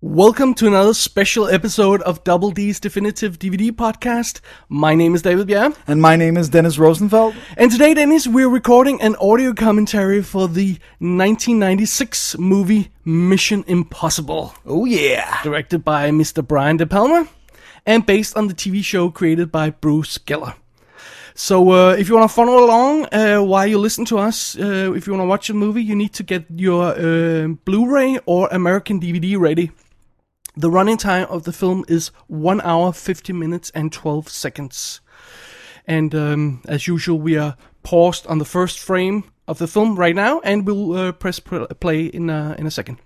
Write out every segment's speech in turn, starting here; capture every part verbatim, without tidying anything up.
Welcome to another special episode of Double D's Definitive D V D Podcast. My name is David Bjerre. And my name is Dennis Rosenfeld. And today, Dennis, we're recording an audio commentary for the nineteen ninety-six movie Mission Impossible. Oh yeah. Directed by Mister Brian De Palma and based on the T V show created by Bruce Geller. So uh, if you want to follow along uh, while you listen to us, uh, if you want to watch a movie, you need to get your uh, Blu-ray or American D V D ready. The running time of the film is one hour, fifty minutes, and twelve seconds. And um, as usual, we are paused on the first frame of the film right now, and we'll uh, press play in a, in a second.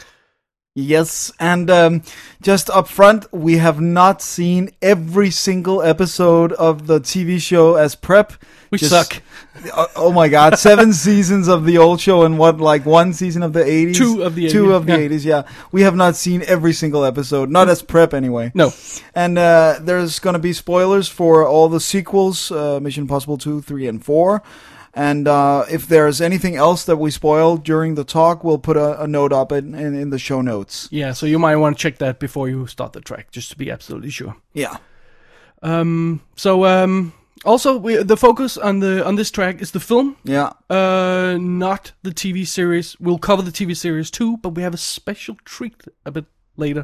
Yes, and um, just up front, we have not seen every single episode of the T V show as prep. We just, suck. Oh, oh my god, seven seasons of the old show and what, like one season of the eighties? Two of the eighties. Two of the yeah. eighties, yeah. We have not seen every single episode, not as prep anyway. No. And uh, there's going to be spoilers for all the sequels, uh, Mission Impossible two, three, and four. And uh, if there's anything else that we spoil during the talk, we'll put a, a note up in, in, in the show notes. Yeah, so you might want to check that before you start the track, just to be absolutely sure. Yeah. Um. So um. Also, we, the focus on the on this track is the film. Yeah. Uh, not the T V series. We'll cover the T V series too, but we have a special treat a bit later.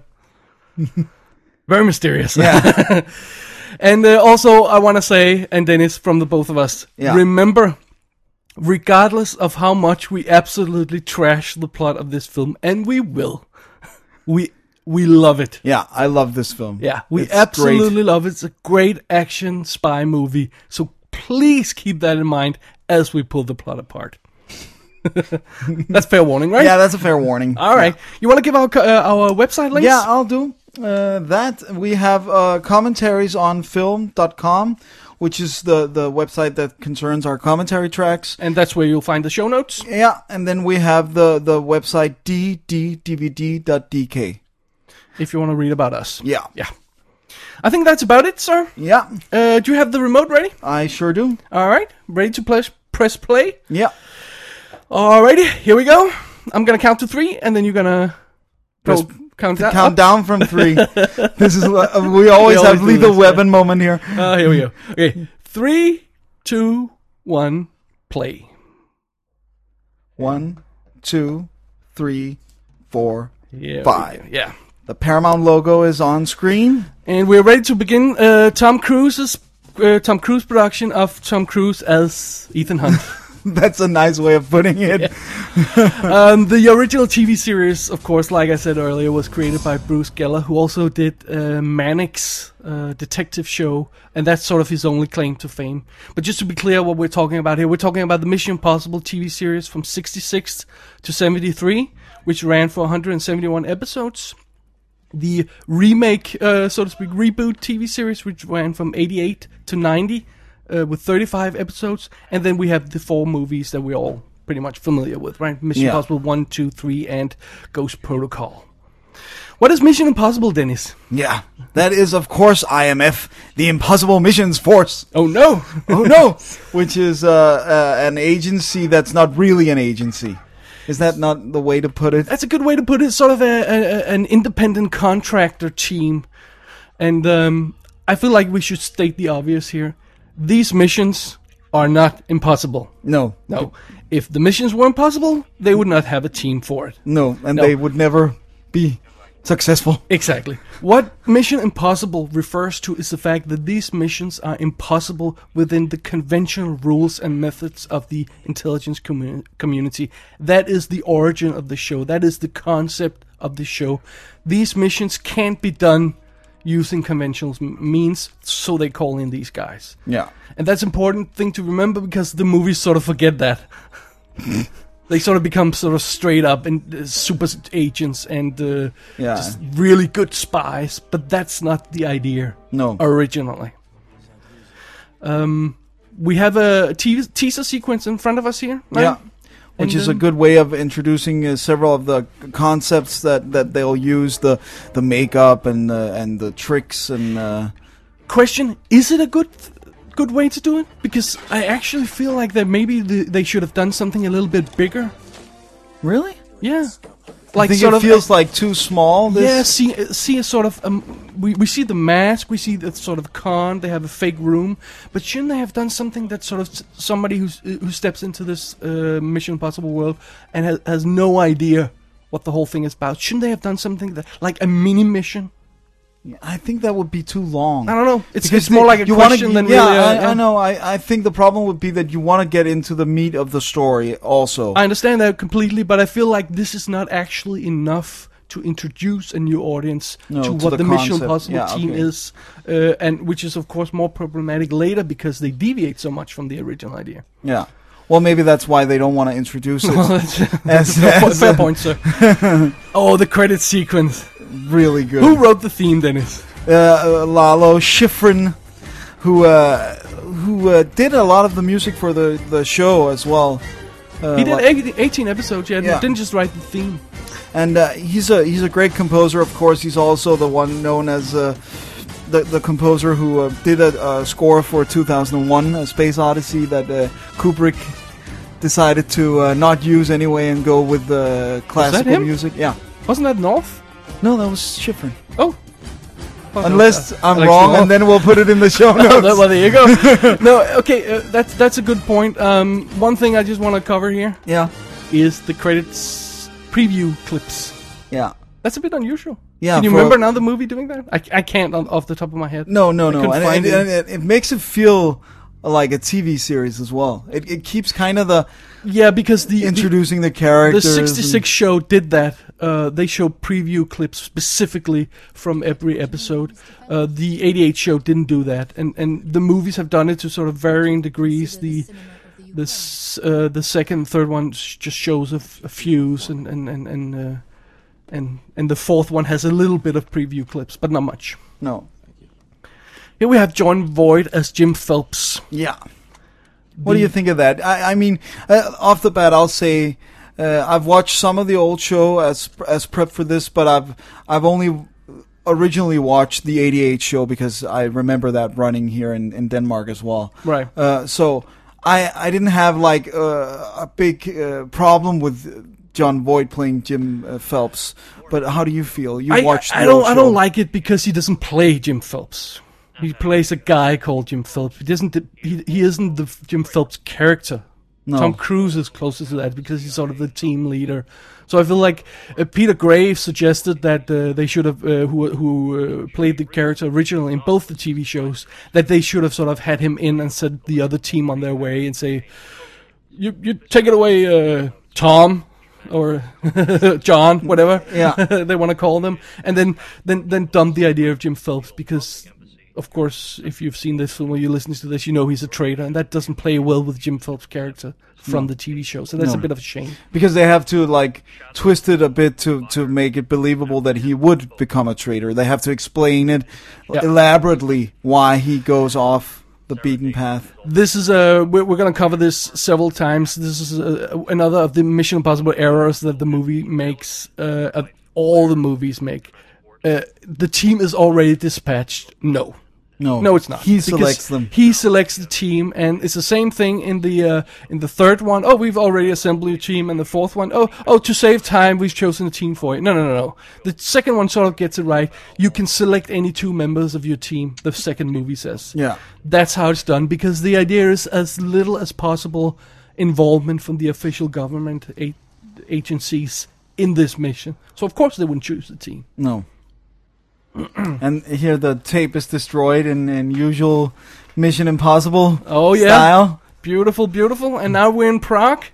Very mysterious. Yeah. And uh, also, I want to say, and Dennis, from the both of us, yeah. remember, regardless of how much we absolutely trash the plot of this film, and we will, we we love it. Yeah, I love this film. Yeah, we it's absolutely great. love it. It's a great action spy movie. So please keep that in mind as we pull the plot apart. That's fair warning, right? Yeah, that's a fair warning. All right. Yeah. You want to give our uh, our website links? Yeah, I'll do uh, that. We have uh, commentaries on film dot com, which is the, the website that concerns our commentary tracks. And that's where you'll find the show notes. Yeah, and then we have the, the website d d d v d dot d k. If you want to read about us. Yeah. Yeah. I think that's about it, sir. Yeah. Uh, do you have the remote ready? I sure do. All right. Ready to press, press play? Yeah. Alrighty, here we go. I'm going to count to three, and then you're going to Press, count, count up. down from three. This is uh, we always We have always do lethal this, weapon moment here. Uh, here we go. Okay. Three, two, one, play. One, two, three, four, Yeah, five. Yeah. The Paramount logo is on screen. And we're ready to begin uh, Tom Cruise's uh, Tom Cruise production of Tom Cruise as Ethan Hunt. That's a nice way of putting it. Yeah. um, the original T V series, of course, like I said earlier, was created by Bruce Geller, who also did uh, Mannix uh, detective show, and that's sort of his only claim to fame. But just to be clear what we're talking about here, we're talking about the Mission Impossible T V series from sixty-six to seventy-three, which ran for one hundred seventy-one episodes. The remake, uh, so to speak, reboot T V series, which ran from eighty-eight to ninety, uh, with thirty-five episodes. And then we have the four movies that we're all pretty much familiar with, right? Mission Yeah. Impossible one, two, three, and Ghost Protocol. What is Mission Impossible, Dennis? Yeah, that is, of course, I M F, the Impossible Missions Force. Oh, no! Oh, no! Which is uh, uh, an agency that's not really an agency. Is that not the way to put it? That's a good way to put it. Sort of a, a, an independent contractor team. And um, I feel like we should state the obvious here. These missions are not impossible. No. No. If the missions were impossible, they would not have a team for it. No, and No. they would never be successful. Exactly. What Mission Impossible refers to is the fact that these missions are impossible within the conventional rules and methods of the intelligence commu- community. That is the origin of the show. That is the concept of the show. These missions can't be done using conventional m- means, so they call in these guys. Yeah. And that's an important thing to remember because the movies sort of forget that. They sort of become sort of straight up and uh, super agents and uh, Yeah. just really good spies, but that's not the idea No. originally. Um, we have a te- teaser sequence in front of us here, right? Yeah. Which And, is a um, good way of introducing uh, several of the concepts that, that they'll use, the the makeup and the, and the tricks and... Uh, Question, is it a good good way to do it? Because I actually feel like that maybe the, they should have done something a little bit bigger. really? Yeah. like think sort it of feels like too small? This? Yeah, see, see a sort of um, we we see the mask, we see the sort of con. They have a fake room, but shouldn't they have done something that sort of s- somebody who's, who steps into this uh, Mission Impossible world and has, has no idea what the whole thing is about? Shouldn't they have done something that like a mini mission? I think that would be too long. I don't know. It's Because it's more the- like a you wanna- question than yeah, really. A, I, yeah. I know. I, I think the problem would be that you want to get into the meat of the story also. I understand that completely, but I feel like this is not actually enough to introduce a new audience No, to to what the the, Mission concept. Impossible Yeah, team okay. is, uh, and which is of course more problematic later because they deviate so much from the original idea. Yeah. Well, maybe that's why they don't want to introduce it as, fair, po- as fair a- point, sir. Oh, the credit sequence. really good. Who wrote the theme, Dennis? uh, uh, Lalo Schifrin, who uh, who uh, did a lot of the music for the, the show as well. Uh, He did like- eighty- eighteen episodes, yeah, Yeah. didn't just write the theme. and uh, he's a he's a great composer. Of course, he's also the one known as uh, the the composer who uh, did a, a score for two thousand one, A Space Odyssey, that uh, Kubrick decided to uh, not use anyway and go with the classical him? music. Yeah. Wasn't that North? No, that was Schifrin. Oh. Oh, Unless no, uh, I'm Alex wrong, North. and then we'll put it in the show notes. well, there you go. No, okay, uh, that's that's a good point. Um, one thing I just want to cover here Yeah, is the credits preview clips. yeah. That's a bit unusual. Yeah, Can you for- remember another movie doing that? I, I can't on, off the top of my head. No, no, I no. couldn't And, find and, it. and it, it makes it feel like a T V series as well. It, it keeps kind of the Yeah, because the the, introducing the the characters. sixty-six show did that. Uh, they showed preview clips specifically from every episode. Uh, the eighty-eight show didn't do that, and and the movies have done it to sort of varying degrees. The this uh, the second, and third one sh- just shows a, f- a few, and and and and, uh, and and the fourth one has a little bit of preview clips, but not much. And, no. Here we have John Voight as Jim Phelps. Yeah. What do you think of that? I, I mean, uh, off the bat, I'll say uh, I've watched some of the old show as as prep for this, but I've I've only originally watched the eighty-eight show because I remember that running here in, in Denmark as well. Right. Uh, so I I didn't have like uh, a big uh, problem with John Voight playing Jim uh, Phelps. But how do you feel? You I, watched I the don't old I show. don't like it because he doesn't play Jim Phelps. He plays a guy called Jim Phelps. He doesn't. He he isn't the Jim Phelps character. No. Tom Cruise is closest to that because he's sort of the team leader. So I feel like uh, Peter Graves suggested that uh, they should have, uh, who who uh, played the character originally in both the T V shows, that they should have sort of had him in and sent the other team on their way and say, "You you take it away, uh, Tom." Or John, whatever Yeah. they want to call them, and then then then dump the idea of Jim Phelps because, of course, if you've seen this film or you're listening to this, you know he's a traitor, and that doesn't play well with Jim Phelps' character from the T V show. So that's No. a bit of a shame. Because they have to like twist it a bit to to make it believable that he would become a traitor. They have to explain it Yeah. elaborately why he goes off the beaten path. This is a we're, we're going to cover this several times. This is a, another of the Mission Impossible errors that the movie makes. Uh, of all the movies make. Uh, the team is already dispatched. No. No, No, it's not. He Because selects them. He selects the team, and it's the same thing in the uh, in the third one. Oh, we've already assembled your team, and the fourth one. Oh, oh, to save time, we've chosen a team for you. No, no, no, no. The second one sort of gets it right. You can select any two members of your team. The second movie says. Yeah. That's how it's done because the idea is as little as possible involvement from the official government a- agencies in this mission. So of course they wouldn't choose the team. No. And here the tape is destroyed in, in usual Mission Impossible Oh yeah. style. Beautiful, beautiful. And now we're in Prague.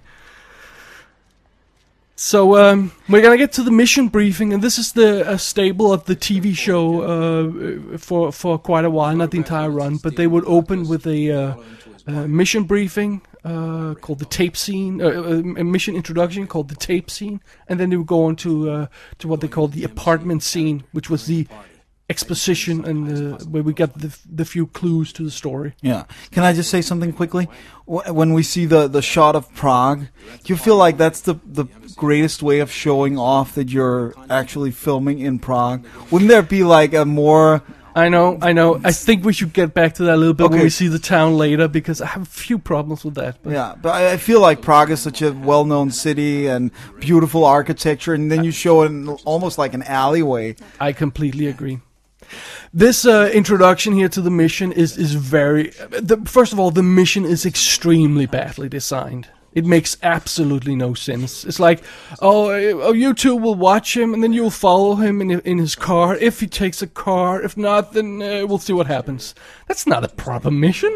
So um, we're gonna get to the mission briefing, and this is the uh, staple of the T V show uh, for for quite a while, not the entire run, but they would open with a uh, uh, mission briefing uh, called the tape scene, uh, uh, a mission introduction called the tape scene, and then they would go on to uh, to what they called the apartment scene, which was the exposition and uh, where we got the the few clues to the story. Yeah. Can I just say something quickly? Wh- When we see the, the shot of Prague, do you feel like that's the, the greatest way of showing off that you're actually filming in Prague? Wouldn't there be like a more I know, I know. I think we should get back to that a little bit Okay. when we see the town later, because I have a few problems with that. But Yeah, but I I feel like Prague is such a well-known city and beautiful architecture, and then you show it in almost like an alleyway. I completely agree. This uh, introduction here to the mission is is very. The, first of all, the mission is extremely badly designed. It makes absolutely no sense. It's like, oh, uh, oh, you two will watch him, and then you'll follow him in in his car. If he takes a car, if not, then uh, we'll see what happens. That's not a proper mission.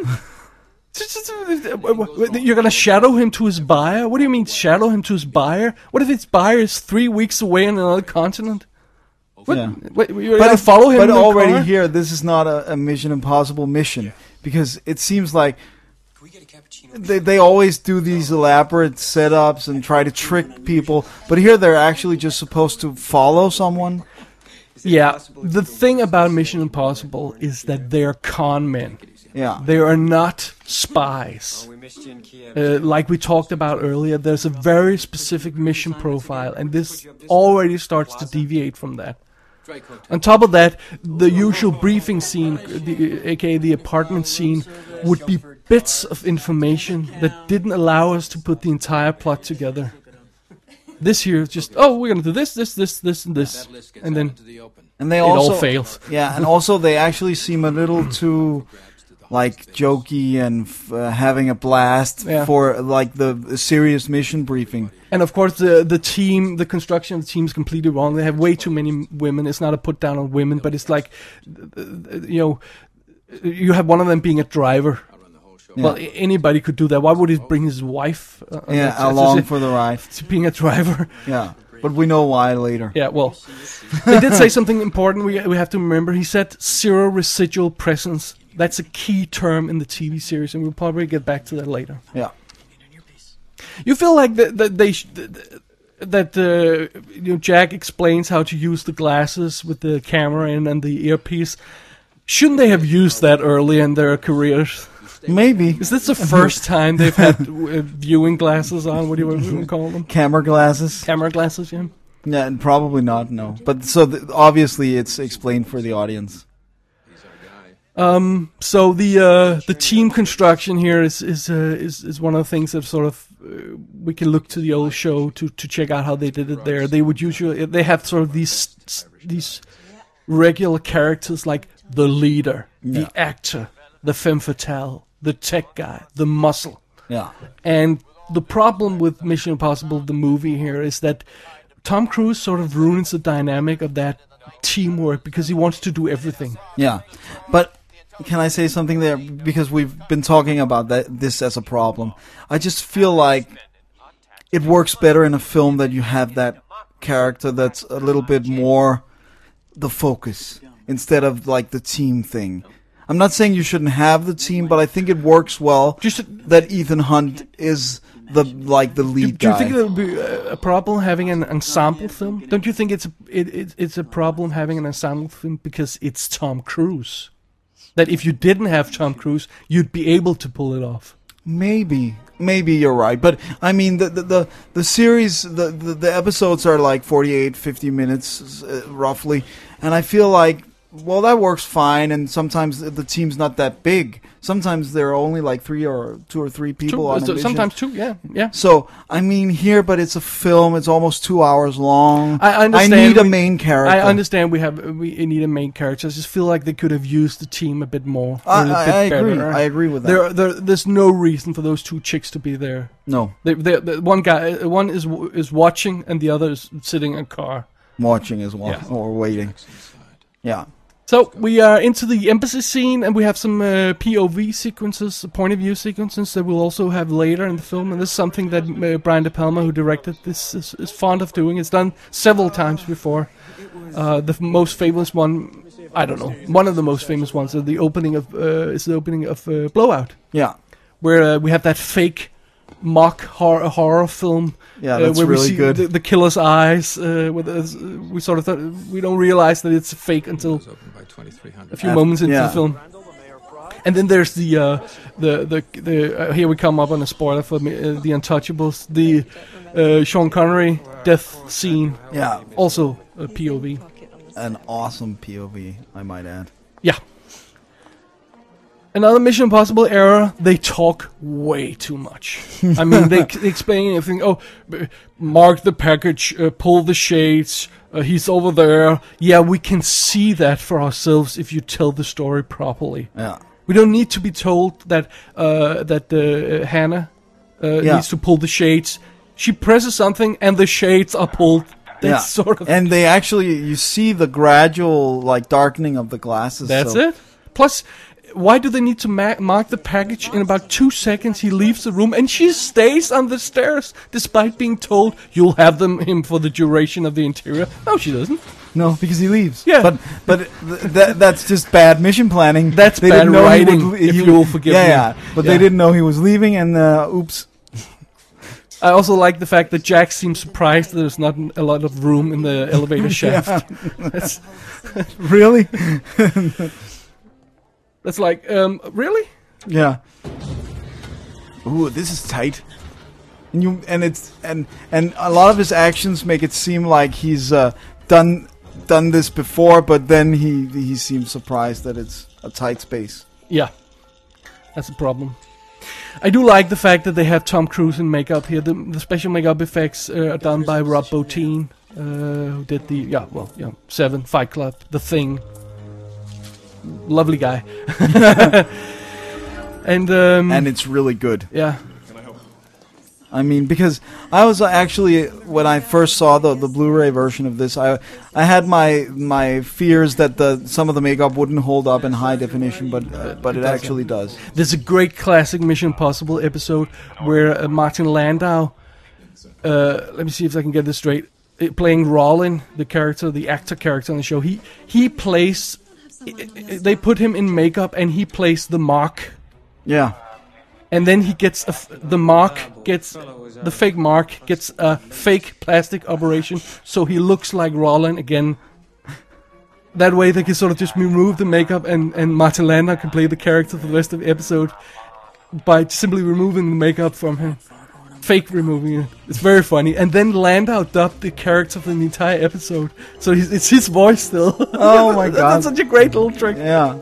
You're gonna shadow him to his buyer? What do you mean shadow him to his buyer? What if his buyer is three weeks away on another continent? What? Yeah. Wait, you're gonna follow him But in the already car? here, this is not a, a Mission Impossible mission, because it seems like they they always do these elaborate setups and try to trick people. But here, they're actually just supposed to follow someone. Yeah, the thing about Mission Impossible is that they're con men. Yeah. They are not spies. Uh, like we talked about earlier, there's a very specific mission profile, and this already starts to deviate from that. On top of that, the usual briefing scene, the, aka the apartment scene, would be bits of information that didn't allow us to put the entire plot together. This here is just, oh, we're gonna do this, this, this, this, and this, and then And they it also all fails. Yeah, and also they actually seem a little too like jokey and f- uh, having a blast Yeah. for like the, the serious mission briefing. And of course, the the team, the construction of the team is completely wrong. They have way too many women. It's not a put down on women, but it's like, uh, you know, you have one of them being a driver. Well, Yeah. a- anybody could do that. Why would he bring his wife? Uh, on Yeah, that? It's along just- for the ride. to being a driver? Yeah, but we know why later. Yeah, well, they did say something important. We we have to remember. He said zero residual presence. That's a key term in the T V series, and we'll probably get back to that later. Yeah. You feel like that, that they sh- that uh, you know Jack explains how to use the glasses with the camera in and the earpiece. Shouldn't they have used that early in their careers? Maybe. Is this the first time they've had uh, viewing glasses on? What do you want to call them? Camera glasses? Camera glasses, yeah. Yeah, and probably not, no. But so th- obviously it's explained for the audience. Um. So the uh, the team construction here is is uh, is is one of the things that sort of uh, we can look to the old show to, to check out how they did it there. They would usually they have sort of these these regular characters like the leader, Yeah. the actor, the femme fatale, the tech guy, the muscle. Yeah. And the problem with Mission Impossible, the movie here, is that Tom Cruise sort of ruins the dynamic of that teamwork because he wants to do everything. Yeah. But can I say something there? Because we've been talking about that this as a problem. I just feel like it works better in a film that you have that character that's a little bit more the focus instead of like the team thing. I'm not saying you shouldn't have the team, but I think it works well Just that Ethan Hunt is the like the Do, lead do you guy. think it would be a, a problem having an ensemble film? Don't you think it's a, it, it, it's a problem having an ensemble film because it's Tom Cruise? That if you didn't have Tom Cruise, you'd be able to pull it off. Maybe, maybe you're right, but I mean the the the, the series, the, the the episodes are like forty-eight, fifty minutes uh, roughly, and I feel like well that works fine. And sometimes the, the team's not that big. Sometimes there are only like three or two or three people Two, on a so- mission. sometimes two, yeah, yeah. So I mean here, but it's a film. It's almost two hours long. I understand. I need a we- main character. I understand we have we need a main character. I just feel like they could have used the team a bit more. I, or a I, bit I agree. better. I agree with that. There, there, there's no reason for those two chicks to be there. no, They, they, the one guy, uh, one is is watching, and the other is sitting in a car. watching as well Yeah. or waiting. Yeah. So we are into the embassy scene, and we have some uh, P O V sequences, point of view sequences that we'll also have later in the film. And this is something that uh, Brian De Palma, who directed this, is, is fond of doing. It's done several times before. Uh, the f- most famous one, I don't know, one of the most famous ones, is the opening of uh, is the opening of uh, Blowout, Yeah. where uh, we have that fake mock horror, horror film. Yeah, uh, that's where we really see good. The, the killer's eyes. Uh, with us, we sort of thought, we don't realize that it's fake until a few Af- moments into yeah. the film. And then there's the uh, the the the uh, here we come up on a spoiler for me, uh, the Untouchables, the uh, Sean Connery death scene, Yeah. also a P O V. An awesome P O V, I might add. Yeah. Another Mission Impossible error, they talk way too much. I mean, they, they explain everything. Oh, b- mark the package, uh, pull the shades, uh, he's over there. Yeah, we can see that for ourselves if you tell the story properly. Yeah. We don't need to be told that uh, that uh, Hannah uh, Yeah. needs to pull the shades. She presses something and the shades are pulled. That's Yeah. sort of... And they actually, you see the gradual, like, darkening of the glasses. That's so. it. Plus, why do they need to ma- mark the package? In about two seconds, he leaves the room, and she stays on the stairs, despite being told, you'll have them him for the duration of the interior. No, she doesn't. No, because he leaves. Yeah. But but th- that that's just bad mission planning. That's they bad didn't know he writing, would, if he you'll would- forgive yeah, me. Yeah, But Yeah. they didn't know he was leaving, and uh, oops. I also like the fact that Jack seems surprised that there's not a lot of room in the elevator shaft. That's, Really? that's like, um, really? Yeah. Ooh, this is tight. And you and it's and and a lot of his actions make it seem like he's uh, done done this before, but then he he seems surprised that it's a tight space. Yeah, that's a problem. I do like the fact that they have Tom Cruise in makeup here. The, the special makeup effects uh, are done by Rob Bottin, uh, who did the yeah, well, yeah, Seven, Fight Club, The Thing. Lovely guy. and um, And it's really good. yeah, I mean, because I was actually, when I first saw the the Blu-ray version of this, I I had my my fears that the some of the makeup wouldn't hold up in high definition, but uh, but it, does, actually does. there's a great classic Mission Impossible episode where uh, Martin Landau, uh, let me see if I can get this straight, uh, playing Rollin, the character, the actor character on the show, he he plays, they put him in makeup and he plays the Mark. Yeah. And then he gets a f- the mark gets the fake mark gets a fake plastic operation, so he looks like Roland again. That way they can sort of just remove the makeup, and and Martin Landau can play the character for the rest of the episode by simply removing the makeup from him, fake removing it. It's very funny. And then Landau dubbed the character for the entire episode, so he's, it's his voice still. Oh my god, That's such a great little trick. Yeah.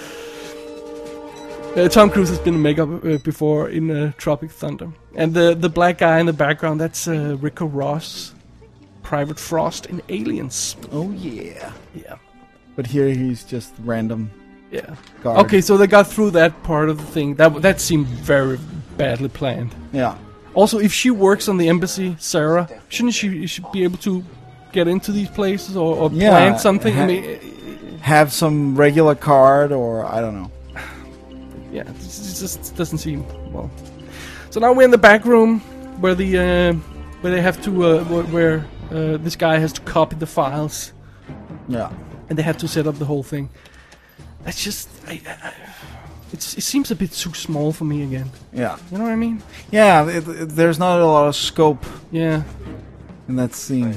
Uh, Tom Cruise has been in makeup uh, before in uh, Tropic Thunder. And the the black guy in the background, that's uh, Rico Ross, Private Frost in Aliens. Oh yeah. Yeah. But here he's just random. Yeah. Guard. Okay, so they got through that part of the thing. That that seemed very badly planned. Yeah. Also, if she works on the embassy, Sarah, shouldn't she, she be able to get into these places or, or Yeah, plan something? ha- I mean, Have some regular card, or I don't know. yeah, it just doesn't seem well. So now we're in the back room where the uh, where they have to uh, where, where uh, this guy has to copy the files, Yeah. and they have to set up the whole thing. That's just, I, I, it's, it seems a bit too small for me again. Yeah. You know what I mean? Yeah. It, it, there's not a lot of scope Yeah. in that scene.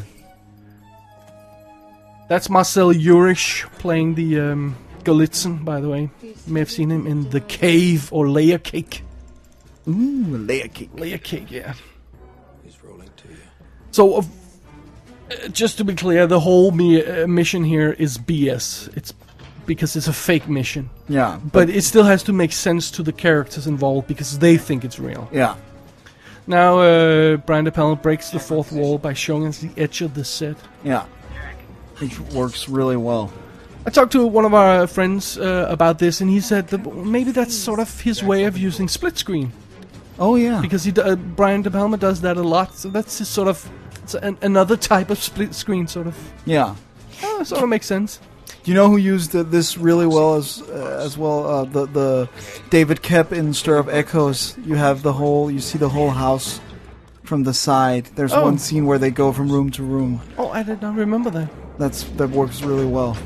That's Marcel Jurich playing the um, Galitzin, by the way. You may have seen him in The Cave or Layer Cake. Ooh, layer cake. Layer Cake, yeah. So, uh, just to be clear, the whole me- uh, mission here is B S. It's because it's a fake mission. Yeah. But it still has to make sense to the characters involved because they think it's real. Yeah. Now, uh, Brian De Palma breaks the fourth wall by showing us the edge of the set. Yeah. Which works really well. I talked to one of our friends uh, about this, and he said that maybe that's sort of his way of using split screen. Oh yeah. Because he, d- uh, Brian De Palma does that a lot, so that's his sort of it's an, another type of split screen, sort of. Yeah. Oh, sort of makes sense. Do you know who used uh, this really well as uh, as well? Uh, the the David Koepp in Stir of Echoes. You have the whole. You see the whole house from the side. There's Oh. one scene where they go from room to room. Oh, I did not remember that. That's that works really well.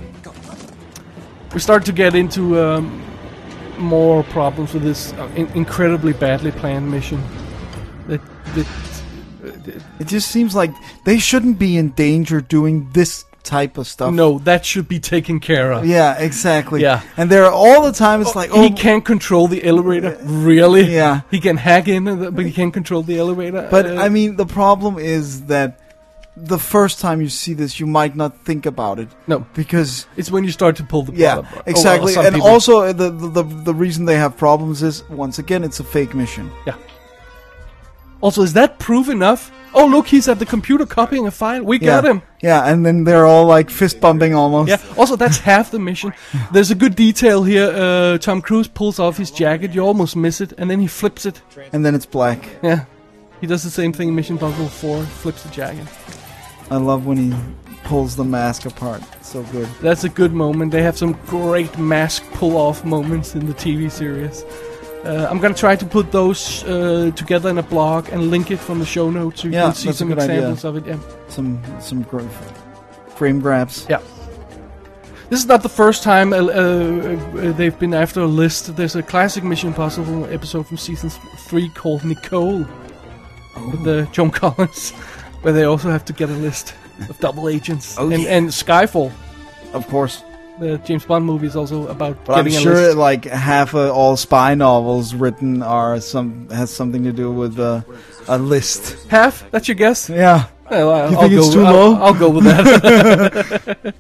We start to get into um, more problems with this uh, in- incredibly badly planned mission. That, that It just seems like they shouldn't be in danger doing this type of stuff. no, that should be taken care of. Yeah, exactly. Yeah. And they're all the time. It's like, oh, He can't control the elevator, really? Yeah. He can hack in, but he can't control the elevator. But Uh, I mean, the problem is that the first time you see this, you might not think about it. No. Because it's when you start to pull the plot yeah, up. exactly. Oh, well, and people. also, the, the the reason they have problems is, once again, it's a fake mission. Yeah. Also, is that proof enough? Oh, look, he's at the computer copying a file. We Yeah. got him. Yeah, and then they're all like fist bumping almost. Yeah. Also, that's half the mission. There's a good detail here. Uh, Tom Cruise pulls off his jacket. You almost miss it, and then he flips it. And then it's black. Yeah. He does the same thing in Mission Impossible four. Flips the jacket. I love when he pulls the mask apart. So good. That's a good moment. They have some great mask pull-off moments in the T V series. Uh, I'm gonna try to put those uh, together in a blog and link it from the show notes so you Yeah, can see that's a some good idea. examples of it. Yeah. Some some gra- frame grabs. Yeah. This is not the first time uh, uh, they've been after a list. There's a classic Mission Impossible episode from season three called Nicole with uh, Joan Collins, where they also have to get a list of double agents. Oh, and, yeah. and Skyfall, Of course. the James Bond movie, is also about But I'm getting a sure list. like half of all spy novels written are some has something to do with uh, a list. Half? That's your guess? Yeah. Well, I'll, You I'll think go it's too I'll, low? I'll go with that.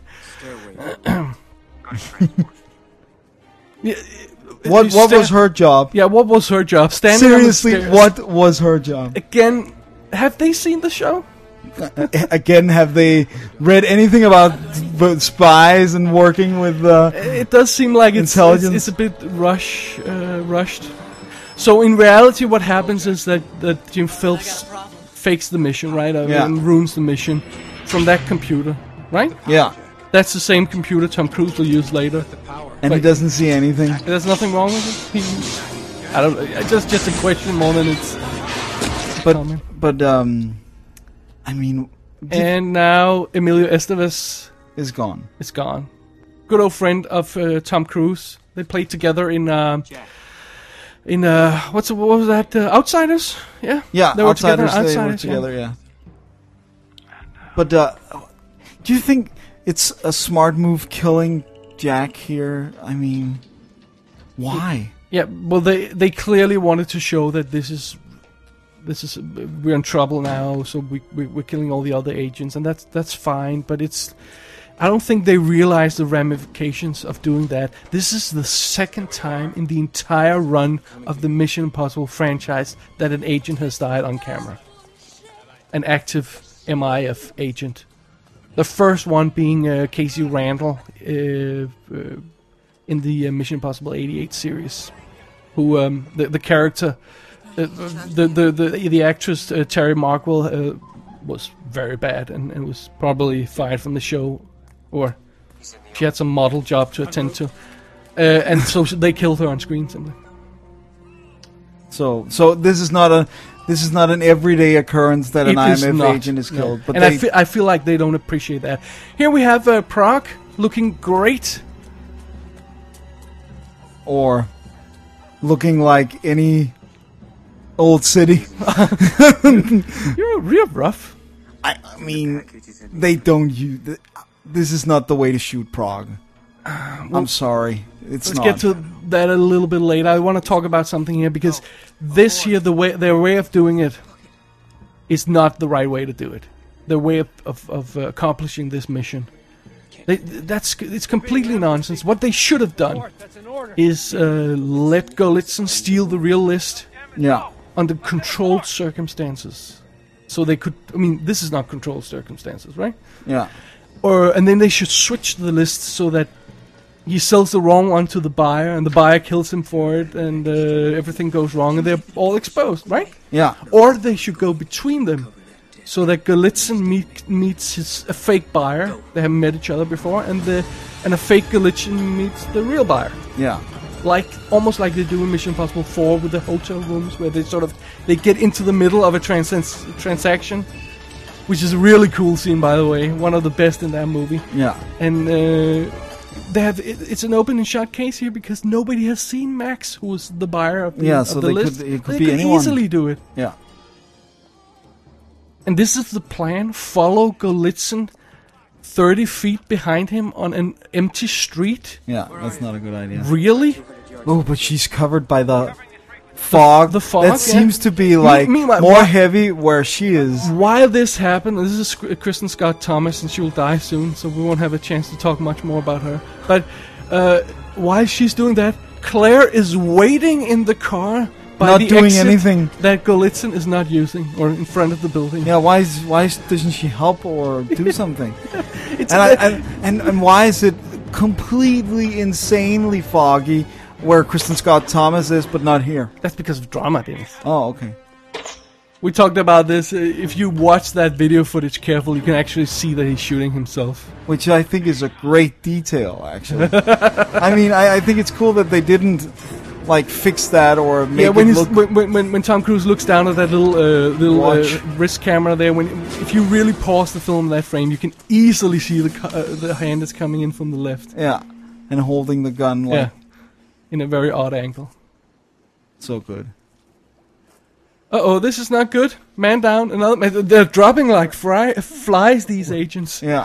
Yeah, What what sta- was her job? Yeah, what was her job? Standing Seriously, on the stairs. what was her job? Again, have they seen the show? Again, have they read anything about b- spies and working with? Uh, It does seem like it's, it's, Intelligence. it's a bit rush, uh, rushed. So in reality, what happens is that, that Jim Phelps fakes the mission, right? Uh, Yeah. And ruins the mission from that computer, right? yeah, That's the same computer Tom Cruise will use later. and he But- doesn't see anything. There's nothing wrong with it. He, I don't. It's just just a question more than it's. But Comment. but um, I mean, And now Emilio Estevez is gone. is gone. Good old friend of uh, Tom Cruise. They played together in um, in uh, what's what was that? Uh, Outsiders. Yeah. Yeah, They were outsiders. together in They were Outsiders, yeah. together. Yeah. But uh, do you think it's a smart move killing Jack here? I mean, why? Yeah. Well, they they clearly wanted to show that this is. This is we're in trouble now, so we, we we're killing all the other agents, and that's that's fine. But it's I don't think they realize the ramifications of doing that. This is the second time in the entire run of the Mission Impossible franchise that an agent has died on camera. An active M I F agent. The first one being uh, Casey Randall uh, uh, in the uh, Mission Impossible eighty-eight series, who um, the the character. Uh, the, the the the actress uh, Terry Markwell uh, was very bad and, and was probably fired from the show, or she had some model job to attend to, uh, and so they killed her on screen simply. So so this is not a this is not an everyday occurrence that an It I is M F not, agent is no. killed. But and they, I feel I feel like they don't appreciate that. Here we have uh, Prague looking great. or looking like any old city. You're real rough. I, I mean, they don't use. th- This is not the way to shoot Prague. I'm sorry, it's Let's not. get to that a little bit later. I want to talk about something here because this here, the way their way of doing it, is not the right way to do it. Their way of of, of uh, accomplishing this mission, they, that's it's completely nonsense. What they should have done is uh, let Golitsyn steal the real list Yeah, under controlled circumstances, so they could. I mean, this is not controlled circumstances, right? yeah, Or and then they should switch the list so that he sells the wrong one to the buyer, and the buyer kills him for it, and uh, everything goes wrong, and they're all exposed, right? yeah, Or they should go between them, so that Golitsyn meet, meets his a fake buyer. They haven't met each other before, and the and a fake Golitsyn meets the real buyer, yeah. like almost like they do in Mission Impossible four with the hotel rooms, where they sort of they get into the middle of a trans- transaction. Which is a really cool scene, by the way. One of the best in that movie. Yeah. And uh, they have it, it's an open and shut case here because nobody has seen Max, who was the buyer of the, Yeah, of so the they list. could- it could they be could anyone. easily do it. Yeah. And this is the plan: follow Golitsyn thirty feet behind him on an empty street. Yeah, that's not a good idea. Really? Oh, but she's covered by the fog, the fog, that yeah. seems to be like meanwhile, more why- heavy where she is. While this happened, this is Sc- Kristen Scott Thomas, and she will die soon, so we won't have a chance to talk much more about her. But uh, while she's doing that, Claire is waiting in the car by Not the doing exit anything. that Golitsyn is not using, or in front of the building. Yeah, why is why is, doesn't she help or do something? It's and, a I, bit- and and and why is it completely insanely foggy where Kristen Scott Thomas is, but not here? That's because of drama, Dennis. Oh, okay. We talked about this. Uh, If you watch that video footage carefully, you can actually see that he's shooting himself. Which I think is a great detail, actually. I mean, I, I think it's cool that they didn't like fix that or make Yeah, when, it he's, look. when, when when Tom Cruise looks down at that little uh, little Watch. uh, wrist camera there, when if you really pause the film in that frame, you can easily see the co- uh, the hand is coming in from the left. Yeah, and holding the gun like Yeah, in a very odd angle. so good. Uh oh, this is not good. Man down. Another. Man, they're dropping like fry, flies. These agents. Yeah,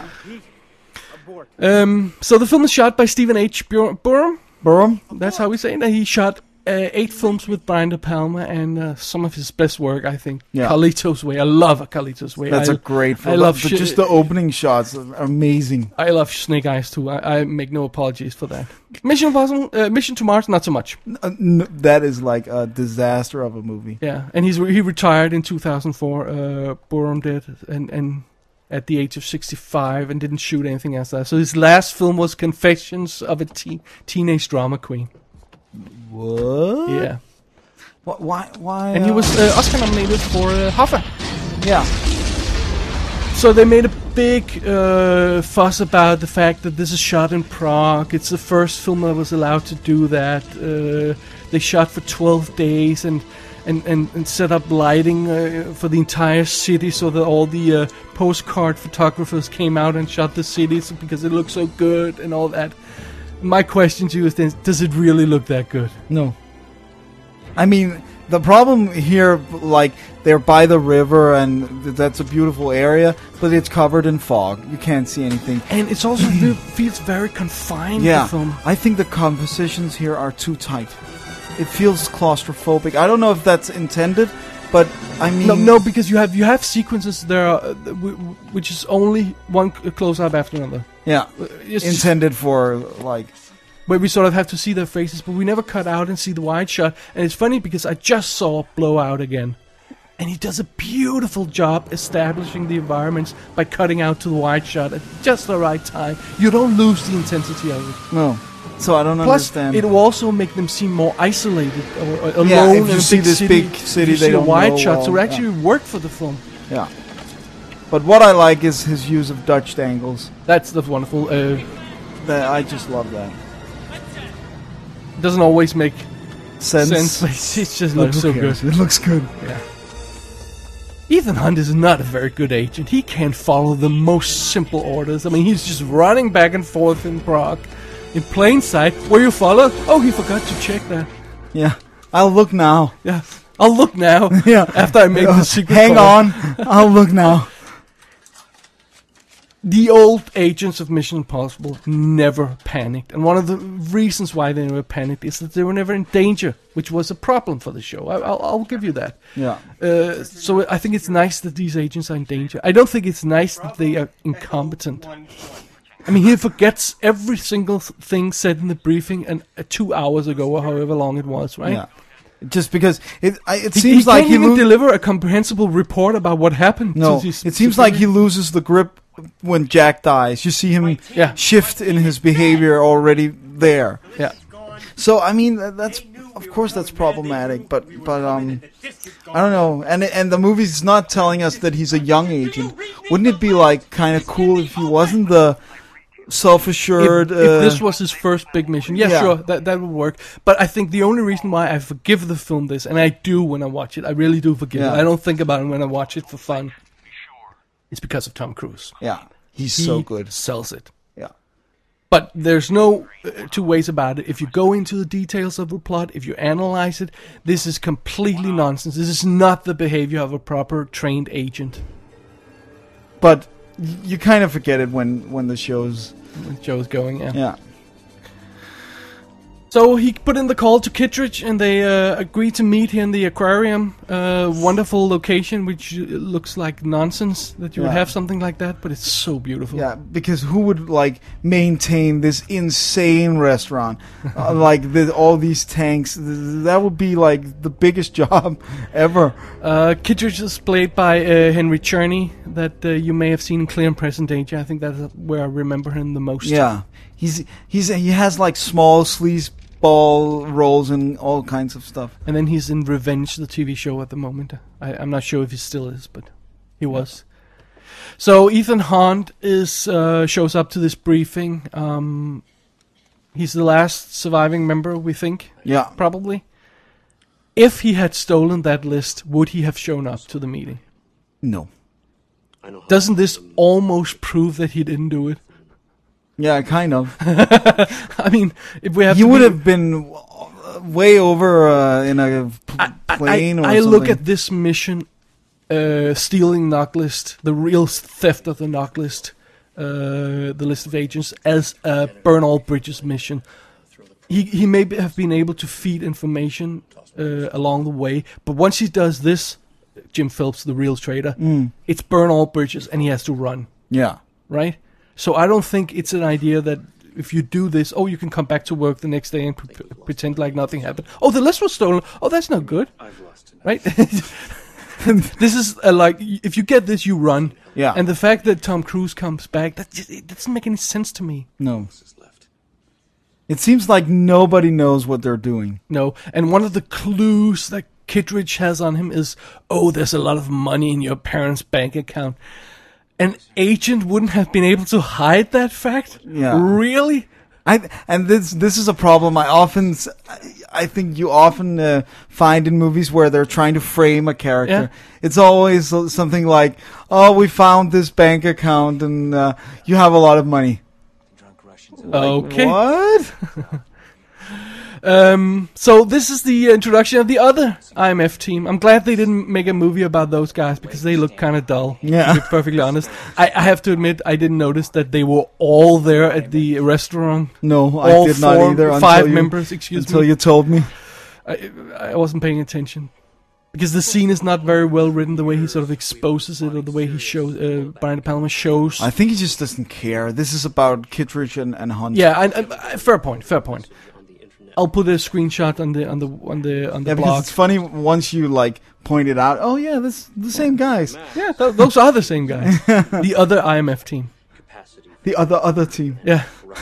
Um. So the film is shot by Stephen H. Bur- Burham. Burham. That's how we say it. He shot uh, eight films with Brian De Palma, and uh, some of his best work, I think. Yeah. Carlito's Way. I love Carlito's Way. That's I, a great film. I love the, shi- just the opening shots are amazing. I love Snake Eyes too. I, I make no apologies for that. Mission Impossible, uh, Mission to Mars, not so much. Uh, n- that is like a disaster of a movie. Yeah, and he's re- he retired in two thousand four. Uh, Burham did, and and at the age of sixty-five, and didn't shoot anything else. That. So his last film was Confessions of a Teen Teenage Drama Queen. What? Yeah, Wh- Why? Why? and he uh, was uh, Oscar nominated for uh, Hoffa. Yeah. So they made a big uh, fuss about the fact that this is shot in Prague. It's the first film that was allowed to do that. Uh, they shot for twelve days and and, and, and set up lighting uh, for the entire city so that all the uh, postcard photographers came out and shot the cities because it looked so good and all that. My question to you is then, does it really look that good? No. I mean, the problem here, like, they're by the river and th- that's a beautiful area, but it's covered in fog. You can't see anything. And it's also fe- feels very confined, Yeah, the film. I think the compositions here are too tight. It feels claustrophobic. I don't know if that's intended, but I mean... No, no, because you have you have sequences there, uh, th- w- w- which is only one c- close up after another. Yeah, Uh, It's intended for, like... where we sort of have to see their faces, but we never cut out and see the wide shot. And it's funny because I just saw Blowout again, and he does a beautiful job establishing the environments by cutting out to the wide shot at just the right time. You don't lose the intensity of it. No. So I don't Plus, understand. it will also make them seem more isolated or, or alone Yeah, if in you a see big this city. big city, you they see don't a wide know shot, well, so it yeah. actually worked for the film. Yeah. But what I like is his use of Dutch angles. That's that's wonderful. Uh, That I just love that. it doesn't always make Sense. sense, but it just But looks who so good. cares? It looks good. Yeah. Ethan Hunt is not a very good agent. He can't follow the most simple orders. I mean, he's just running back and forth in Prague, in plain sight. Were you followed? Oh, he forgot to check that. Yeah. I'll look now. Yeah, I'll look now. Yeah. After I make the secret Hang call. on. I'll look now. The old agents of Mission Impossible never panicked, and one of the reasons why they never panicked is that they were never in danger, which was a problem for the show. I, I'll, I'll give you that. Yeah. Uh, so I think it's nice that these agents are in danger. I don't think it's nice that they are incompetent. I mean, he forgets every single th- thing said in the briefing and uh, two hours ago or however long it was, right? Yeah. Just because it I, it He, seems he like can't he even lo- deliver a comprehensible report about what happened. No, to these it seems like he civilians. loses the grip when Jack dies. You see him Yeah. shift in his behavior already there. Yeah. So I mean that- that's of course that's problematic, but but um I don't know. And and the movie's not telling us that he's a young agent. Wouldn't it be like kind of cool if he wasn't the self-assured If, uh, if this was his first big mission, yeah, Yeah. sure, that that would work. But I think the only reason why I forgive the film this, and I do when I watch it, I really do forgive Yeah. it. I don't think about it when I watch it for fun. It's because of Tom Cruise. Yeah. He's He so good. sells it. Yeah. But there's no uh, two ways about it. If you go into the details of the plot, if you analyze it, this is completely nonsense. This is not the behavior of a proper trained agent. But y- you kind of forget it when when the show's When Joe's going, yeah. yeah. So he put in the call to Kittredge, and they uh, agreed to meet here in the aquarium. Uh, wonderful location, which looks like nonsense that you would Yeah. have something like that, but it's so beautiful. Yeah, because who would like maintain this insane restaurant, uh, like the, all these tanks? Th- That would be like the biggest job ever. Uh, Kittredge is played by uh, Henry Czerny, that uh, you may have seen in Clear and Present Danger. I think that's where I remember him the most. Yeah, he's he's he has like small sleazeball roles in all kinds of stuff. And then he's in Revenge, the T V show at the moment. I, I'm not sure if he still is, but he was. So Ethan Hunt is uh, shows up to this briefing. Um, he's the last surviving member, we think, Yeah, probably. If he had stolen that list, would he have shown up to the meeting? no. Doesn't this almost prove that he didn't do it? Yeah, kind of. I mean, if we have He to would be- have been uh, way over uh, in a p- I, plane I, or I something. look at this mission, uh, stealing knock list, the real theft of the knock list, uh, the list of agents, as a burn all bridges mission. He he may be- have been able to feed information uh, along the way, but once he does this, Jim Phelps, the real traitor, Mm. it's burn all bridges, and he has to run, Yeah. right? So I don't think it's an idea that if you do this, oh, you can come back to work the next day and pre- pretend like nothing happened. Oh, the list was stolen. Oh, that's not good, right? This is uh, like, if you get this, you run. Yeah. And the fact that Tom Cruise comes back, that just, it doesn't make any sense to me. No. It seems like nobody knows what they're doing. No. And one of the clues that Kittredge has on him is, oh, there's a lot of money in your parents' bank account. An agent wouldn't have been able to hide that fact? Yeah. Really? I and this this is a problem I often s- I, I think you often uh, find in movies where they're trying to frame a character. Yeah. It's always uh, something like, "Oh, we found this bank account and uh, you have a lot of money." Okay. What? Um, so this is the introduction of the other I M F team. I'm glad they didn't make a movie about those guys because they look kind of dull. Yeah. To be perfectly honest, I, I have to admit I didn't notice that they were all there at the restaurant. No, I all did four, not either. Five until you, members, excuse until me. you told me. I, I wasn't paying attention because the scene is not very well written. The way he sort of exposes it, or the way he shows uh, Brian De Palma shows. I think he just doesn't care. This is about Kittredge and, and Hunt. Yeah, I, I, I- fair point. Fair point. I'll put a screenshot on the on the on the on the Yeah, because blog. it's funny once you like point it out. Oh yeah, this the same guys. Yeah, th- those are the same guys. The other I M F team. The other other team. Yeah.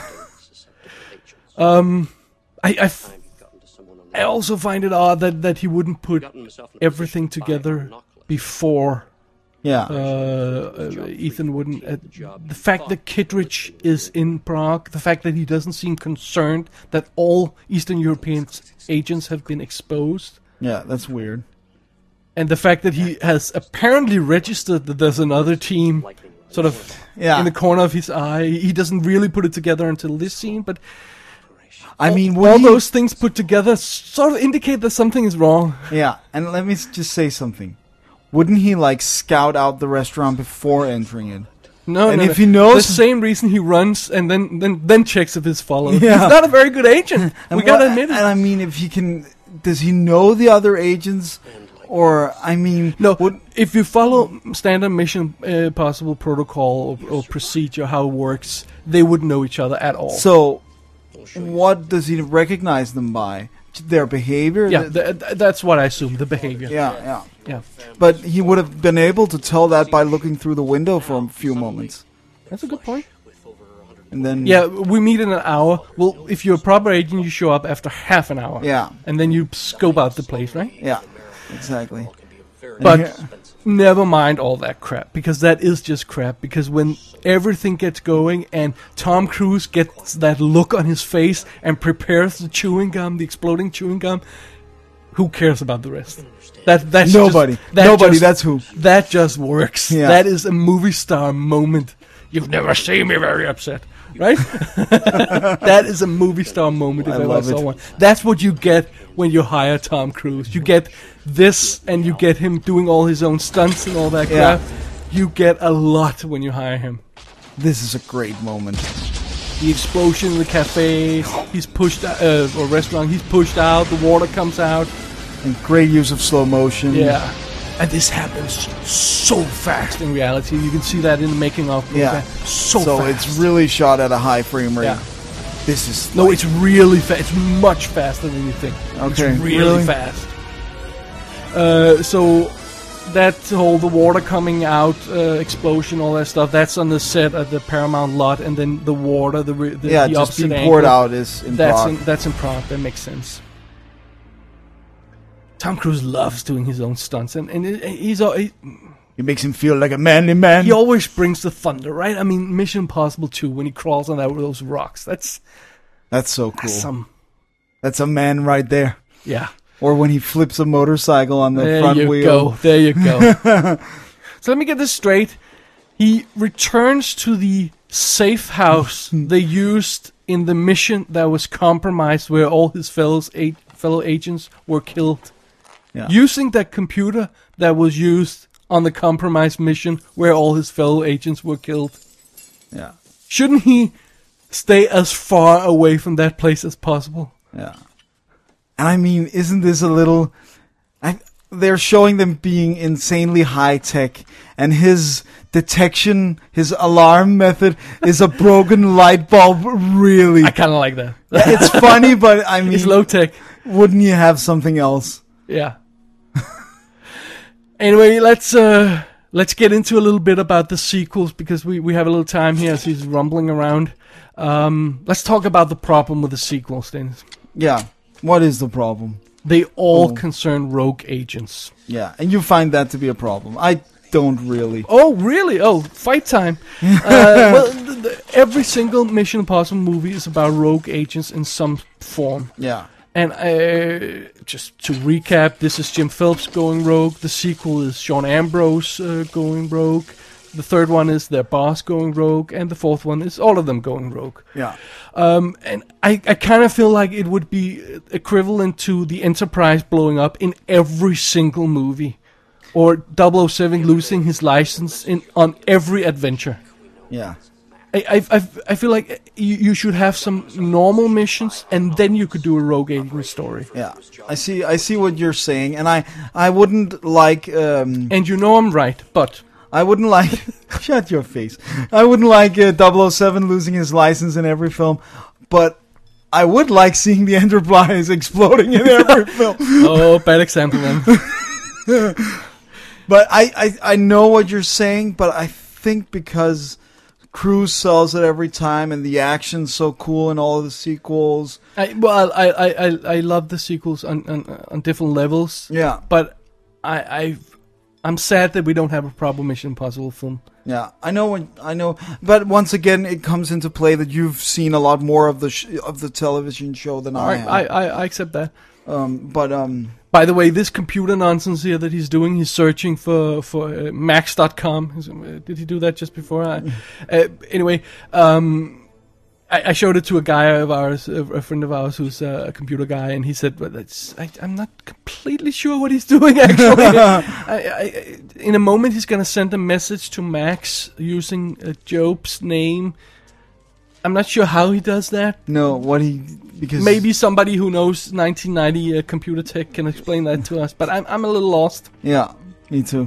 Um, I, I, f- I also find it odd that, that he wouldn't put everything together before Yeah. uh, uh, Ethan wouldn't. Uh, the fact that Kittredge is in Prague, the fact that he doesn't seem concerned that all Eastern European agents have been exposed, Yeah, that's weird. and the fact that he has apparently registered that there's another team sort of Yeah. in the corner of his eye. He doesn't really put it together until this scene, but I mean, all would he- those things put together sort of indicate that something is wrong. Yeah, and let me s- just say something. Wouldn't he like scout out the restaurant before entering it? No, And no, if no. he knows- the same reason he runs and then then, then checks if it's followed. Yeah. He's not a very good agent. And we gotta what- admit it. And I mean, if he can, does he know the other agents? Or I mean, No, would, if you follow standard Mission uh, Possible protocol or, or procedure, how it works, they wouldn't know each other at all. so what does he recognize them by? Their behavior? yeah, The- th- th- that's what I assume. The behavior. yeah, yeah. Yeah. But he would have been able to tell that by looking through the window for a few moments, That's a good point. and then Yeah, we meet in an hour. Well, if you're a proper agent, you show up after half an hour. yeah, And then you scope out the place, right? yeah, exactly. And But here- never mind all that crap, because that is just crap. Because when everything gets going and Tom Cruise gets that look on his face and prepares the chewing gum, the exploding chewing gum, who cares about the rest? That that's nobody, Just, that nobody. just- that's who. that just works. Yeah. That is a movie star moment. You've never seen me very upset, right? That is a movie star moment if I I ever love saw it. one. That's what you get when you hire Tom Cruise. You get this, and you get him doing all his own stunts and all that Yeah. crap. You get a lot when you hire him. This is a great moment. the explosion in the cafe. He's pushed uh, or restaurant. He's pushed out. The water comes out. And great use of slow motion. Yeah, and this happens so fast in reality. You can see that in the making of. Yeah, so, so fast. it's really shot at a high frame rate. Yeah. This is no, like, it's really fast. It's much faster than you think. Okay, it's really, really? fast. Uh, so that whole the water coming out uh, explosion, all that stuff. That's on the set at the Paramount lot, and then the water, the the, yeah, the just opposite being poured angle, out is in that's Prague. in, that's in Prague. That makes sense. Tom Cruise loves doing his own stunts, and and it, he's al- he, It makes him feel like a manly man. he always brings the thunder, right? I mean, Mission Impossible two when he crawls on that with those rocks. That's That's so cool. that's some That's a man right there. yeah. Or when he flips a motorcycle on the There front you wheel. go. There you go. So let me get this straight. He returns to the safe house they used in the mission that was compromised, where all his fellows a- fellow agents were killed. Yeah. Using that computer that was used on the compromised mission, where all his fellow agents were killed. Yeah. Shouldn't he stay as far away from that place as possible? Yeah. And I mean, isn't this a little... I, they're showing them being insanely high-tech, and his detection, his alarm method is a broken light bulb, really. I kind of like that. Yeah, it's funny, but I mean... It's low-tech. Wouldn't you have something else? Yeah. Anyway, let's uh, let's get into a little bit about the sequels, because we, we have a little time here as he's rumbling around. Um, let's talk about the problem with the sequels, Dennis. Yeah. What is the problem? They all Oh. concern rogue agents. Yeah, and you find that to be a problem. I don't really. Oh, really? Oh, fight time. uh, well, the, the, every single Mission Impossible movie is about rogue agents in some form. Yeah. And uh, just to recap, this is Jim Phelps going rogue. The sequel is Sean Ambrose uh, going rogue. The third one is their boss going rogue. And the fourth one is all of them going rogue. Yeah. Um, and I, I kind of feel like it would be equivalent to the Enterprise blowing up in every single movie. Or double oh seven losing his license in on every adventure. Yeah. I, I, I, I feel like you, you should have some normal missions, and then you could do a rogue agent story. Yeah. I see I see what you're saying, and I I wouldn't like um And you know I'm right, but I wouldn't like shut your face. I wouldn't like uh, double oh seven losing his license in every film, but I would like seeing the Enterprise exploding in every film. oh, bad example then. But I, I, I know what you're saying, but I think because Cruise sells it every time and the action's so cool in all of the sequels. I, well, I, I, I, I love the sequels on, on on different levels. Yeah. But I, I, I'm sad that we don't have a proper Mission Impossible film. Yeah, I know when I know, but once again, it comes into play that you've seen a lot more of the sh- of the television show than All I right, have. I, I, I accept that. Um, but um, By the way, this computer nonsense here that he's doing, he's searching for for uh, max dot com. Uh, did he do that just before? I, uh, anyway, um, I, I showed it to a guy of ours, a, a friend of ours who's uh, a computer guy, and he said, "Well, that's, I, I'm not completely sure what he's doing. Actually, I, I, in a moment, he's gonna send a message to Max using uh, Job's name." I'm not sure how he does that. no, what he because Maybe somebody who knows nineteen ninety uh, computer tech can explain that to us, but I'm I'm a little lost. yeah, me too.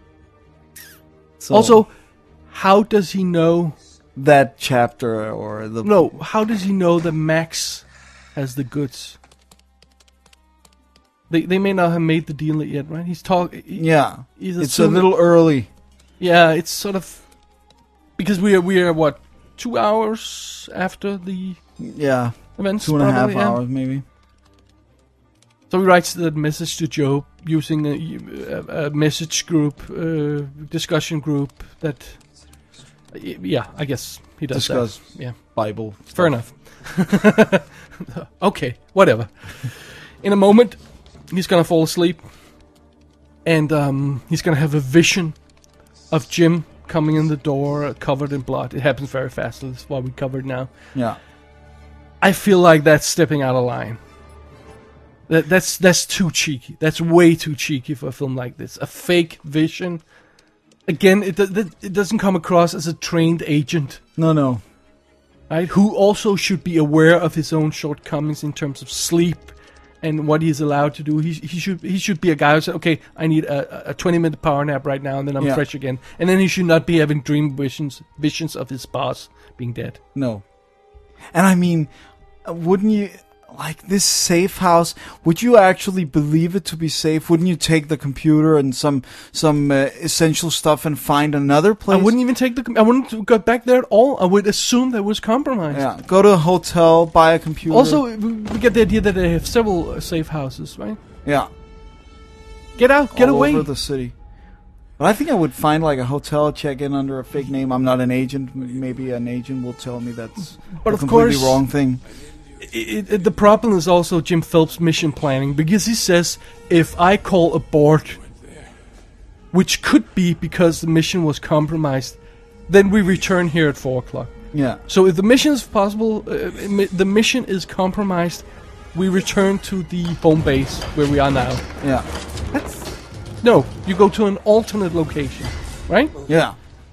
So Also, how does he know? that chapter or the No, how does he know that Max has the goods? They they may not have made the deal yet, right? He's talking. yeah, He's it's a assuming- little early. Yeah, it's sort of because we are we are what two hours after the Yeah, events, two and a half probably, yeah? hours maybe. So he writes that message to Joe using a, a, a message group, uh, discussion group that. Yeah, I guess he does Discuss that. Yeah, Bible. fair enough. Okay, whatever. In a moment, he's gonna fall asleep, and um, he's gonna have a vision of Jim coming in the door, covered in blood. It happens very fast, so that's why we covered now. Yeah, I feel like that's stepping out of line. That that's that's too cheeky. That's way too cheeky for a film like this. A fake vision. Again, it it, it doesn't come across as a trained agent. no, no. right? Who also should be aware of his own shortcomings in terms of sleep and what he's allowed to do. He he should he should be a guy who said, okay, I need a, a twenty minute power nap right now, and then I'm Yeah. fresh again. And then he should not be having dream visions visions of his boss being dead. No. And I mean, uh, wouldn't you, like this safe house, would you actually believe it to be safe? Wouldn't you take the computer and some some uh, essential stuff and find another place? I wouldn't even take the. com- I wouldn't go back there at all. I would assume that was compromised. Yeah, go to a hotel, buy a computer. Also, we we get the idea that they have several uh, safe houses, right? yeah, Get out, get all away. over the city. But I think I would find like a hotel, check in under a fake name. I'm not an agent. M- Maybe an agent will tell me that's But a of completely course- wrong thing. It, it, the problem is also Jim Phelps' mission planning, because he says, if I call abort, which could be because the mission was compromised, then we return here at four o'clock. Yeah, So if the mission is possible, uh, mi- the mission is compromised, we return to the home base where we are now. yeah, That's, no, you go to an alternate location, right? yeah.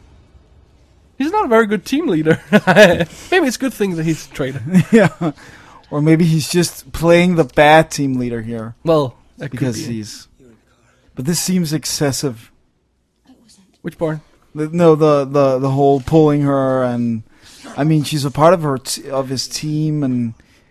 He's not a very good team leader. Maybe it's a good thing that he's a traitor. Yeah. Or maybe he's just playing the bad team leader here Well, that because could be. he's. But this seems excessive. Which part? The- No, the the the whole pulling her, and I mean she's a part of her t- of his team, and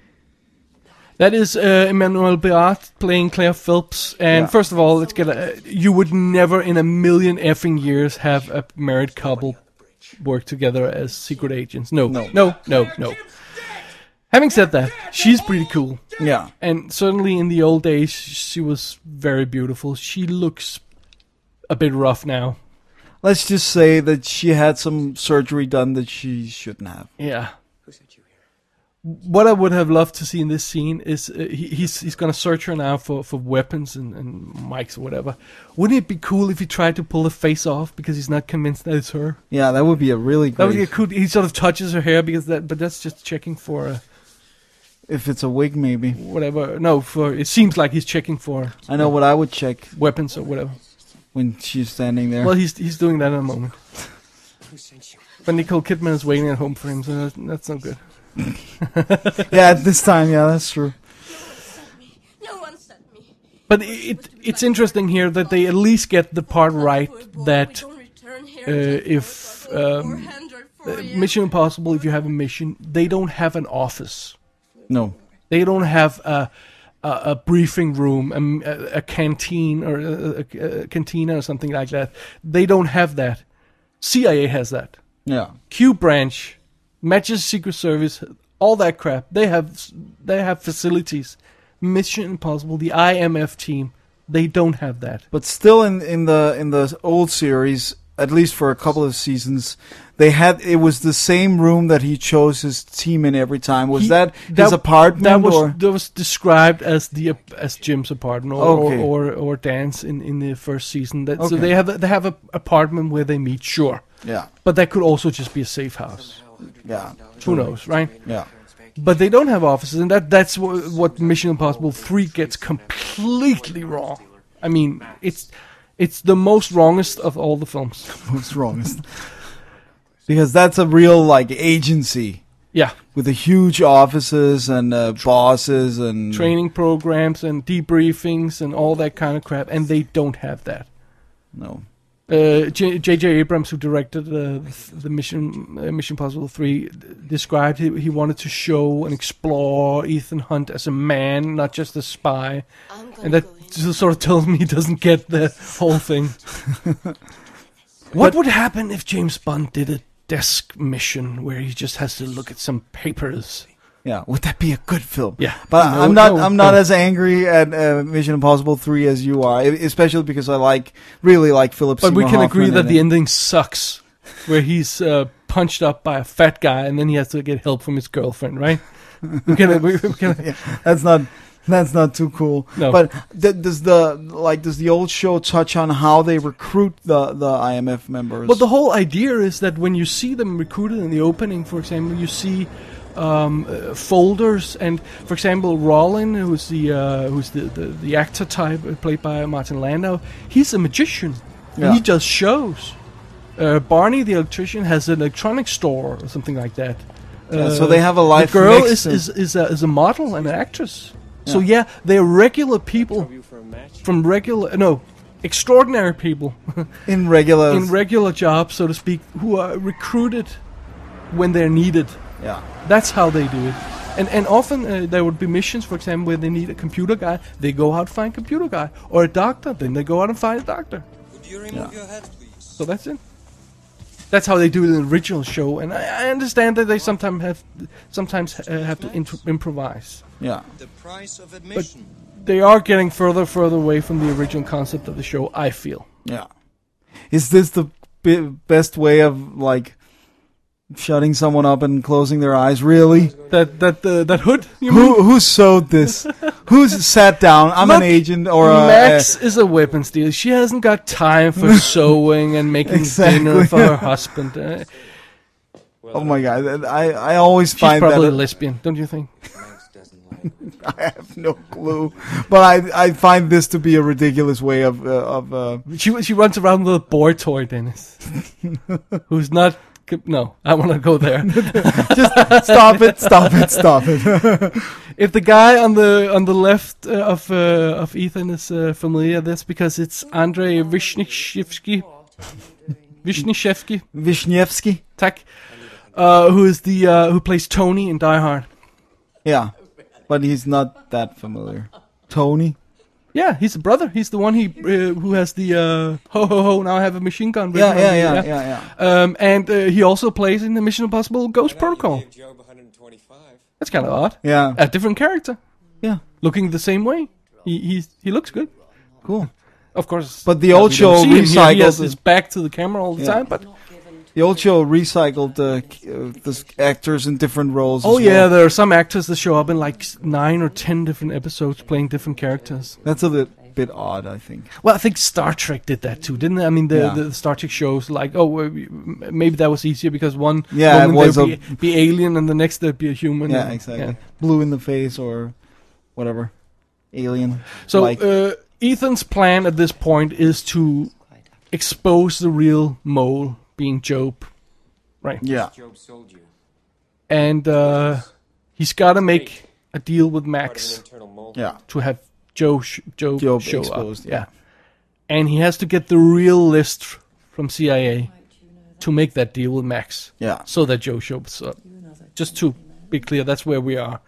That is uh, Emmanuel Beat playing Claire Phelps. And Yeah. first of all, let's get a, you would never in a million effing years have a married couple work together as secret agents. No, No. no, no, no. Having said that, she's pretty cool. yeah, And certainly in the old days, she was very beautiful. She looks a bit rough now. let's just say that she had some surgery done that she shouldn't have. Yeah. What I would have loved to see in this scene is uh, he, he's he's gonna search her now for, for weapons and, and mics or whatever. Wouldn't it be cool if he tried to pull the face off because he's not convinced that it's her? Yeah, that would be a really That would great. be cool. He sort of touches her hair because that, but that's just checking for uh, If it's a wig, maybe. whatever. No, for it seems like he's checking for I know what I would check weapons or whatever. when she's standing there. Well, he's he's doing that in a moment. But Nicole Kidman is waiting at home for him, so that's, that's no good. Yeah, at this time, yeah, that's true. No one sent me. But it it's interesting here that they at least get the part right that uh, if um, uh, Mission Impossible, if you have a mission, they don't have an office. No. They don't have a a, a briefing room, a, a, a canteen or a, a, a cantina or something like that. They don't have that. C I A has that. Yeah. Q branch, matches Secret Service, all that crap. They have they have facilities. Mission Impossible, the I M F team, they don't have that. But still, in in the in the old series, at least for a couple of seasons, they had it was the same room that he chose his team in every time. Was He- that his apartment That was or? that was described as the ap- as Jim's apartment or Okay. or, or, or Dan's in, in the first season. That, So Okay. they have a, they have a apartment where they meet, sure, Yeah. but that could also just be a safe house. Yeah. Who knows, right? Yeah. But they don't have offices, and that that's what, what Mission Impossible three gets completely wrong. I mean, it's it's the most wrongest of all the films. What's wrong? Because that's a real like agency Yeah, with the huge offices and uh, bosses and training programs and debriefings and all that kind of crap, and they don't have that. No. Uh, J J. Abrams, who directed uh, the Mission uh, Mission Impossible three, d- described he, he wanted to show and explore Ethan Hunt as a man, not just a spy, and that just sort of tells me he doesn't get the whole thing. What would happen if James Bond did a desk mission where he just has to look at some papers? Yeah, would that be a good film? Yeah, But No, I'm not. no, I'm not no. as angry at uh, Mission Impossible three as you are, e- especially because I like really like Philip. But we Seymour can Hoffman agree that in the it. ending sucks, where he's uh, punched up by a fat guy and then he has to get help from his girlfriend, right? We can, we, we can, Yeah, that's not. That's not too cool. No. But th- does the like does the old show touch on how they recruit the the I M F members? But the whole idea is that when you see them recruited in the opening, for example, you see um, uh, folders, and for example, Rollin, who's the uh, who's the, the, the actor type uh, played by Martin Landau, he's a magician. Yeah. And he does shows. Uh, Barney, the electrician, has an electronics store or something like that. Yeah, so they have a life The girl mix is and- is is a, is a model and an actress. So yeah, they're regular people from regular no, extraordinary people in regular. in regular jobs, so to speak, who are recruited when they're needed. yeah. That's how they do it. And and often uh, there would be missions, for example, where they need a computer guy. They go out and find a computer guy, or a doctor. Then they go out and find a doctor. Would you remove Yeah. your hat, please? So that's it. That's how they do it in the original show, and I, I understand that they sometimes have sometimes uh, have to intro- improvise. Yeah. The price of admission. They are getting further and further away from the original concept of the show, I feel. Yeah. Is this the be- best way of like shutting someone up and closing their eyes? Really? That that uh, that hood, you mean? Who who sewed this? Who's sat down? I'm Look, an agent or a Max is a weapons dealer. She hasn't got time for sewing and making Exactly. dinner for her husband. Uh, uh, oh my god! I I always she's find probably a that lesbian, don't you think? I have no clue, but I I find this to be a ridiculous way of uh, of. Uh, She she runs around with a boy toy, Dennis, who's not. No, I want to go there. stop it! Stop it! Stop it! If the guy on the on the left uh, of uh, of Ethan is uh, familiar, that's because it's Andrei Vishnishevsky. Vishnishevsky, Wisniewski. tak, uh, who is the uh, who plays Tony in Die Hard. Yeah, but he's not that familiar. Tony. Yeah, he's the brother. He's the one he uh, who has the uh, ho ho ho. Now I have a machine gun. written Yeah, on yeah, the- yeah, yeah, yeah. Um, and uh, he also plays in the Mission Impossible Ghost Protocol. Gave Job one hundred twenty-five. That's kind of odd. Yeah, A different character, yeah. looking the same way. He he he looks good. Cool. Of course. But the uh, old we show don't see him here. He has recycled- his back to the camera all the Yeah. time. But The old show recycled the uh, the actors in different roles. oh as yeah, well. there are some actors that show up in like s- nine or ten different episodes playing different characters. That's a li- bit odd, I think. Well, I think Star Trek did that too, didn't it? I mean, the, Yeah. the Star Trek shows like, oh, well, we- m- maybe that was easier because one Yeah, it moment was there'd be, be alien and the next there'd be a human. Yeah, and- exactly. yeah. Blue in the face or whatever. Alien. So like. uh, Ethan's plan at this point is to expose the real mole, being Job, right? yeah. Job sold you. And uh, he's got to make a deal with Part of an Max internal mole. Yeah. to have Joe sh- Job, Job show exposed, up. yeah. And he has to get the real list from C I A to make that deal with Max, Yeah. so that Joe shows up. Just to be clear, that's where we are.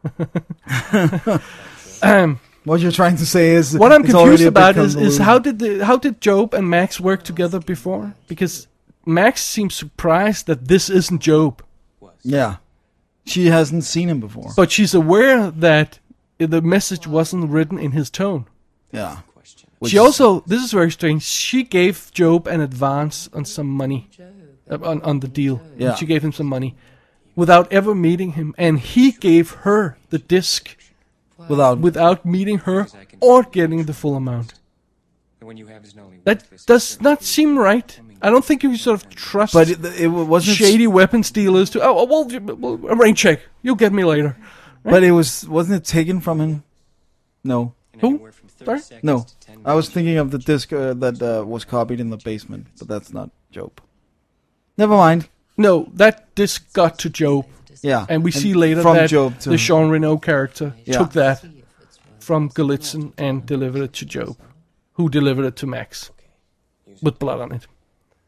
um, What you're trying to say is what I'm it's already confused a bit about is, is convoluted. how did the how did Job and Max work together before? Because Max seems surprised that this isn't Job, Yeah. She hasn't seen him before. but she's aware that the message wasn't written in his tone. yeah. She also, this is very strange, she gave Job an advance on some money, uh, on, on the deal. Yeah. She gave him some money without ever meeting him. And he gave her the disc Without without meeting her or getting the full amount. And when you have his only That worthless does sister, not seem right. I don't think you can sort of trust but it, it wasn't shady weapons dealers to, oh, well, you- well, a rain check. You'll get me later. But it was wasn't it taken from him? No. and Who? anywhere from thirty Sorry? seconds No. to ten I was minutes. thinking of the disc uh, that uh, was copied in the basement, but that's not Job. Never mind. No, that disc got to Job. Yeah. And we see later from that Job to the Jean Reno character Yeah. took that from Galitzin and delivered it to Job, who delivered it to Max with blood on it.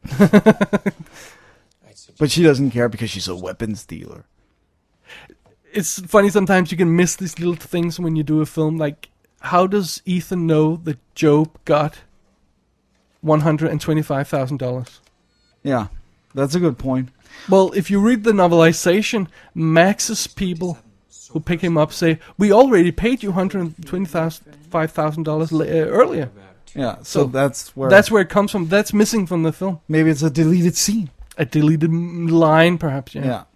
I'd suggest But she doesn't care because she's a weapons dealer. It's funny sometimes you can miss these little things when you do a film. Like, how does Ethan know that Job got one hundred twenty-five thousand dollars? Yeah. That's a good point. Well, if you read the novelization, Max's people who pick him up say, we already paid you one hundred twenty-five thousand dollars uh, earlier. Yeah. So, So that's where That's where it comes from. That's missing from the film. maybe it's a deleted scene. A deleted m- line, perhaps. Yeah. Yeah.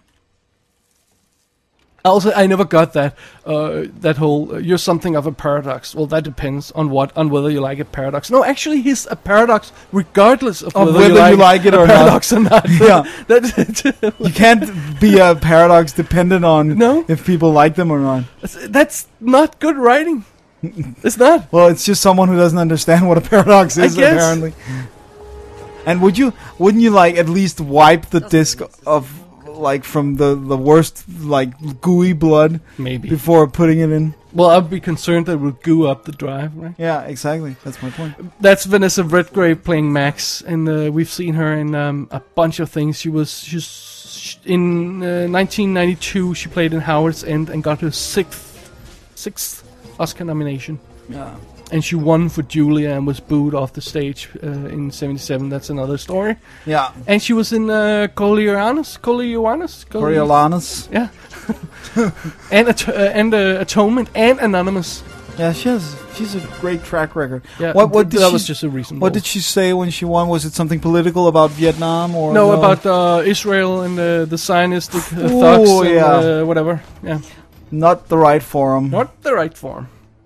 Also, I never got that. Uh, that whole uh, "you're something of a paradox." Well, that depends on what, on whether you like a paradox. No, actually, he's a paradox regardless of, Of whether, whether you, you like like it a or not. paradox or not. Yeah. that, You can't be a paradox dependent on No. if people like them or not. that's not good writing. It's not. Well, it's just someone who doesn't understand what a paradox I is, guess. apparently. And would you, wouldn't you like at least wipe the disc of like from the, the worst, like gooey blood Maybe. before putting it in. Well, I'd be concerned that it would goo up the drive, right? Yeah, exactly. That's my point. That's Vanessa Redgrave playing Max, and uh, we've seen her in um, a bunch of things. She was she's in uh, nineteen ninety-two. She played in Howard's End and got her sixth sixth Oscar nomination. Yeah. And she won for Julia and was booed off the stage uh, in seventy-seven. That's another story. Yeah. And she was in uh, Coriolanus, Coriolanus, Coriolanus. Yeah. and at- uh, and uh, Atonement and Anonymous. Yeah, she has. She's a great track record. Yeah, What? What th- did that she, was just a recent. What role. did she say when she won? Was it something political about Vietnam or No, about uh, Israel and uh, the Zionistic uh, Ooh, thugs and yeah. uh, whatever. Yeah, not the right forum? not the right form.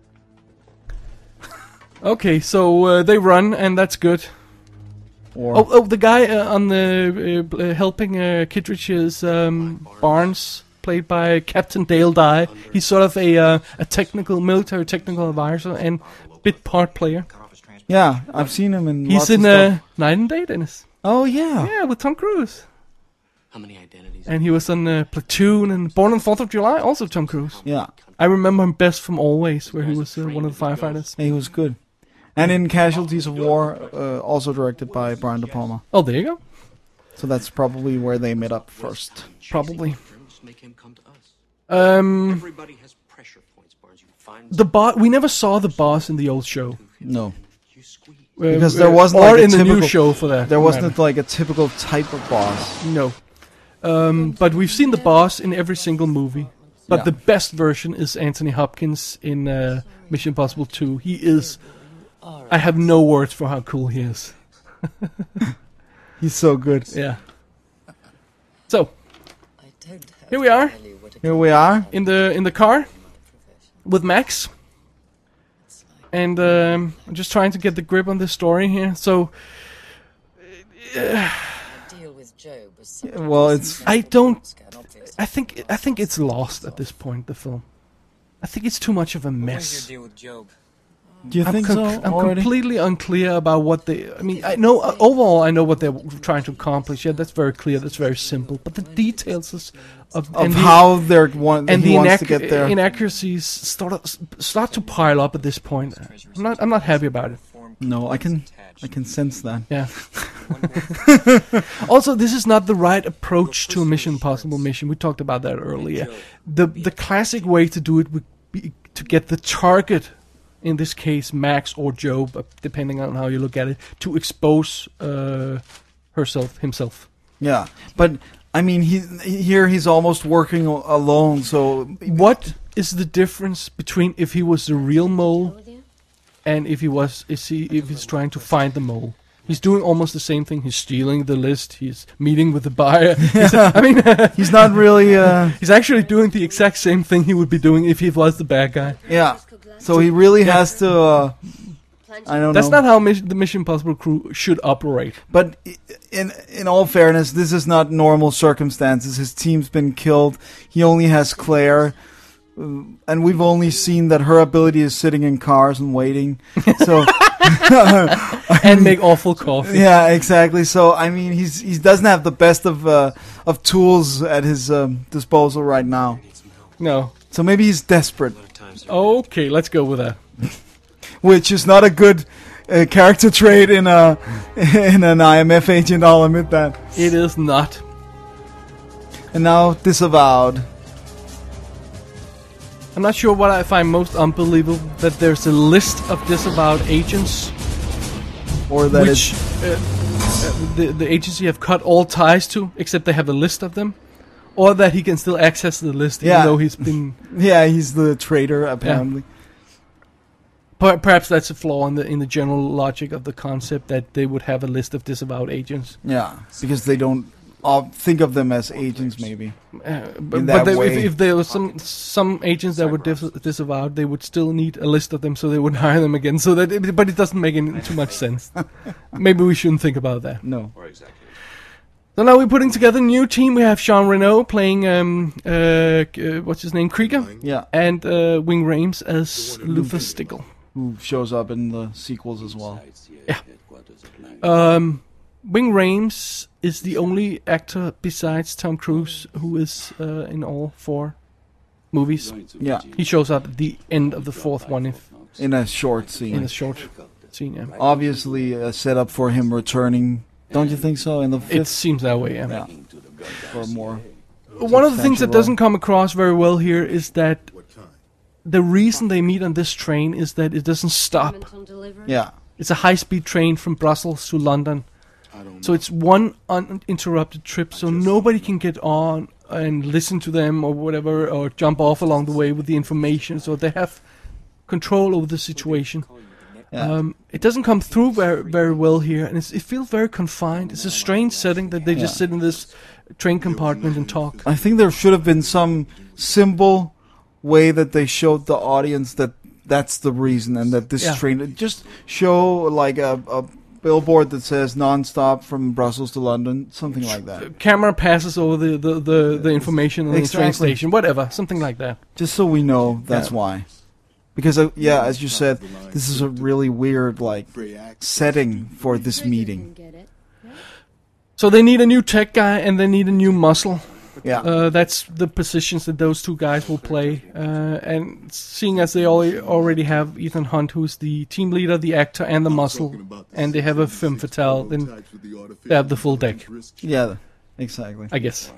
Okay, so uh, they run, and that's good. Or Oh, oh, the guy uh, on the uh, uh, helping uh, Kittredge is um, Barnes, played by Captain Dale Dye. He's sort of a uh, a technical, military technical advisor and bit part player. yeah, I've seen him in. He's lots in of uh, stuff. Night and Day, Dennis. Oh yeah. Yeah, with Tom Cruise. How many identities? And he was on uh, Platoon and Born on the fourth of July, also Tom Cruise. Yeah. I remember him best from Always, where he was uh, one of the firefighters. He was good. And in Casualties of War, uh, also directed by Brian De Palma. Oh, there you go. So that's probably where they met up first. Probably. Make him come to us. Um, Everybody has pressure points, Barnes. You find the boss. We never saw the boss in the old show. No. you squeeze. Uh, Because there uh, wasn't or like a in the new typical- show for that. There matter. wasn't like a typical type of boss. No. Um, but we've seen the boss in every single movie. But Yeah. the best version is Anthony Hopkins in uh, Mission Impossible two. He is. I have no words for how cool he is. He's so good. Yeah. So here we are Here we are. in the in the car with Max, and um, I'm just trying to get the grip on this story here. So Deal with Job was something Well, it's I don't. scared obvious. I think I think it's lost at this point. The film. I think it's too much of a What's mess. your deal with Job? Do you I'm, think com- so I'm already? completely unclear about what they. I mean, I know uh, overall I know what they're trying to accomplish. Yeah, that's very clear. That's very simple. But the details is of, of and the- how they're want, and he the wants inac- to get there. inaccuracies start start to pile up at this point. I'm not I'm not happy about it. No, I can I can sense that. Yeah. Also, this is not the right approach to a Mission Impossible mission. We talked about that earlier. The the classic way to do it would be to get the target, in this case Max or Job, uh, depending on how you look at it, to expose uh, herself himself. Yeah, but I mean, he here he's almost working a- alone. So What is the difference between if he was the real mole and if he was is he if he's trying to find the mole? He's doing almost the same thing. He's stealing the list. He's meeting with the buyer. He's, I mean, he's not really. Uh, he's actually doing the exact same thing he would be doing if he was the bad guy. yeah, so he really has to. Uh, I don't That's know. not how mis- the Mission Impossible crew should operate. But i- in in all fairness, this is not normal circumstances. His team's been killed. He only has Claire, uh, and we've only seen that her ability is sitting in cars and waiting. So And make awful coffee. yeah, exactly. So I mean, he's he doesn't have the best of uh, of tools at his um, disposal right now. No. So maybe he's desperate, Okay, let's go with that. which is not a good uh, character trait in a in an I M F agent. I'll admit that. It is not. And now disavowed. I'm not sure what I find most unbelievable, that there's a list of disavowed agents, Or that which it's uh, uh, the, the agency have cut all ties to, except they have a list of them. Or that he can still access the list, even Yeah. though he's been... yeah, he's the traitor apparently. Per- perhaps that's a flaw in the in the general logic of the concept, that they would have a list of disavowed agents. Yeah, because they don't uh, think of them as agents, maybe. Uh, but In but that they, if, way. if there was some some agents that were dis- disavowed, they would still need a list of them, so they wouldn't hire them again. So that, it, but it doesn't make any, too much sense. Maybe we shouldn't think about that. No. So now we're putting together a new team. We have Jean Reno playing um uh, uh what's his name, Krieger, Yeah, and uh, Wing Rames as Luther Stickle. who shows up in the sequels as well. Um, Ving Rhames is the only actor besides Tom Cruise who is uh, in all four movies. Yeah, He shows up at the end of the fourth one if in a short scene. in a short scene. Yeah. Obviously, a setup for him returning. Don't you think so? In the It fifth, seems that way. Yeah. yeah, for more. One of the things that substantial doesn't come across very well here is that the reason they meet on this train is that it doesn't stop. On delivery? Yeah, It's a high-speed train from Brussels to London. So it's one uninterrupted trip, so nobody can get on and listen to them or whatever, or jump off along the way with the information. So they have control over the situation. yeah. Um, it doesn't come through very very well here, and it's, it feels very confined. It's a strange setting that they just Yeah. sit in this train compartment and talk. I think there should have been some simple way that they showed the audience that that's the reason, and that this Yeah. train just show like a, a billboard that says non-stop from Brussels to London, something like that. Camera passes over the, the, the, the information on the train Exactly. station, whatever, something like that. Just so we know that's Yeah. why. Because uh, yeah, as you said, this is a really weird like setting for this meeting. Get it? So they need a new tech guy and they need a new muscle. Yeah, Uh, that's the positions that those two guys will play. Uh, and seeing as they al- already have Ethan Hunt, who's the team leader, the actor, and the muscle, and they have a femme fatale, then they have the full deck, yeah, exactly. I guess.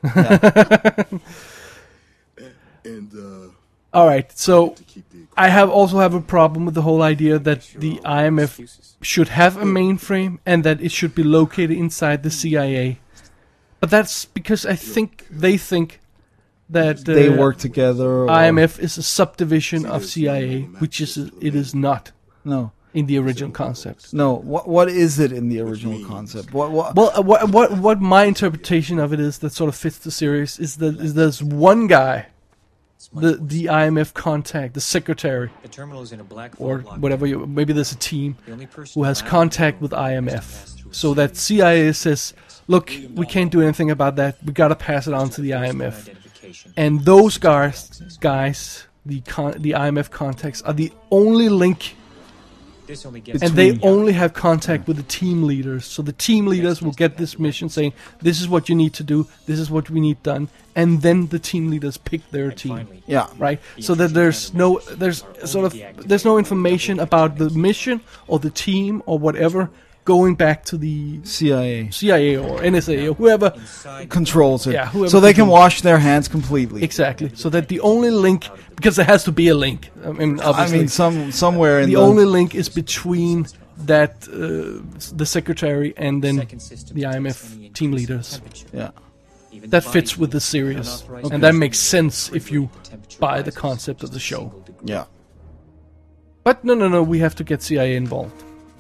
And uh, All right, so I have also have a problem with the whole idea that the I M F should have a mainframe and that it should be located inside the C I A. But that's because I think they think that uh, They work together. Or, I M F is a subdivision of C I A, which is it is not No, in the original concept. no. What what is it in the original concept? What what? Well, uh, what what what my interpretation of it is that sort of fits the series is that is there's one guy, the the I M F contact, the secretary, The terminal is in a black or vault whatever. You, maybe there's a team The only person who has allowed contact to with I M F, pass through a so that C I A says, "Look, we can't do anything about that. We gotta pass it on to the I M F." identification. And those guys, guys, the con- the I M F contacts are the only link. This only gets And they Between- only have contact with the team leaders. So the team leaders will get this mission saying, this is what you need to do, this is what we need done. And then the team leaders pick their team. finally, Yeah, Right? So that there's no, there's sort of, there's no information about the mission or the team or whatever going back to the C I A C I A or N S A or whoever. inside controls it, Yeah, whoever so they can controls- wash their hands completely. Exactly. So that the only link, because there has to be a link. I mean, I obviously. mean, some somewhere in the the, only link is between that uh, the secretary and then second system the I M F detects any team increase in leaders. temperature. yeah. Even That the fits body with the fluid series, unauthorized and that use makes sense if you the temperature buy the rises concept of the just a show. single degree. Yeah. But no, no, no, we have to get C I A involved.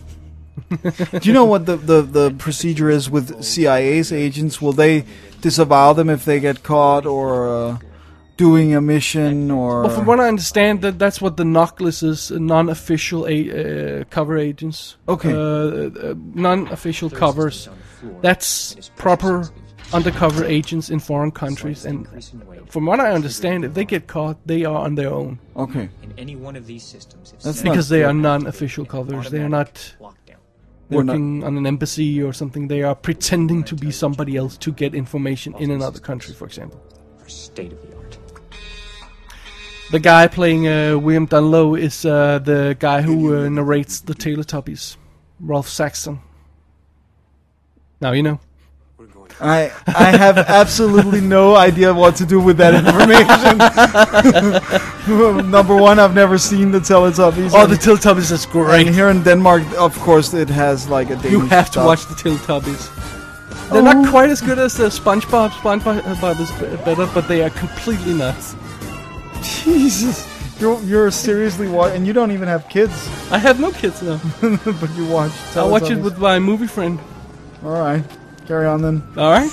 Do you know what the, the, the procedure is with C I A's agents? Will they disavow them if they get caught or uh, doing a mission or? Well, from what I understand, that that's what the Noclis is, uh, non-official a- uh, cover agents. Okay. Uh, uh, non-official covers. That's proper undercover agents in foreign countries, and Increase in weight. from what I understand, if they get caught, they are on their own. Okay. In any one of these systems, if That's set- not Because they good. are non-official covers. They are not lockdown. They're not- working on an embassy or something. They are pretending to be somebody else to get information in another country, for example. For state of the art. The guy playing uh, William Dunlow is uh, the guy who uh, narrates the Teletubbies, Ralph Saxon. Now you know. I I have absolutely no idea what to do with that information. Number one, I've never seen the Teletubbies. Oh, and- the Teletubbies is and great. here in Denmark, of course, it has like a Danish You have to dub. watch the Teletubbies. They're Oh. not quite as good as the SpongeBob. SpongeBob is b- better, but they are completely nuts. Jesus, you're you're seriously watching, and you don't even have kids, I have no kids now. but you watch. I watch it Teletubbies. with my movie friend. All right, carry on then. All right.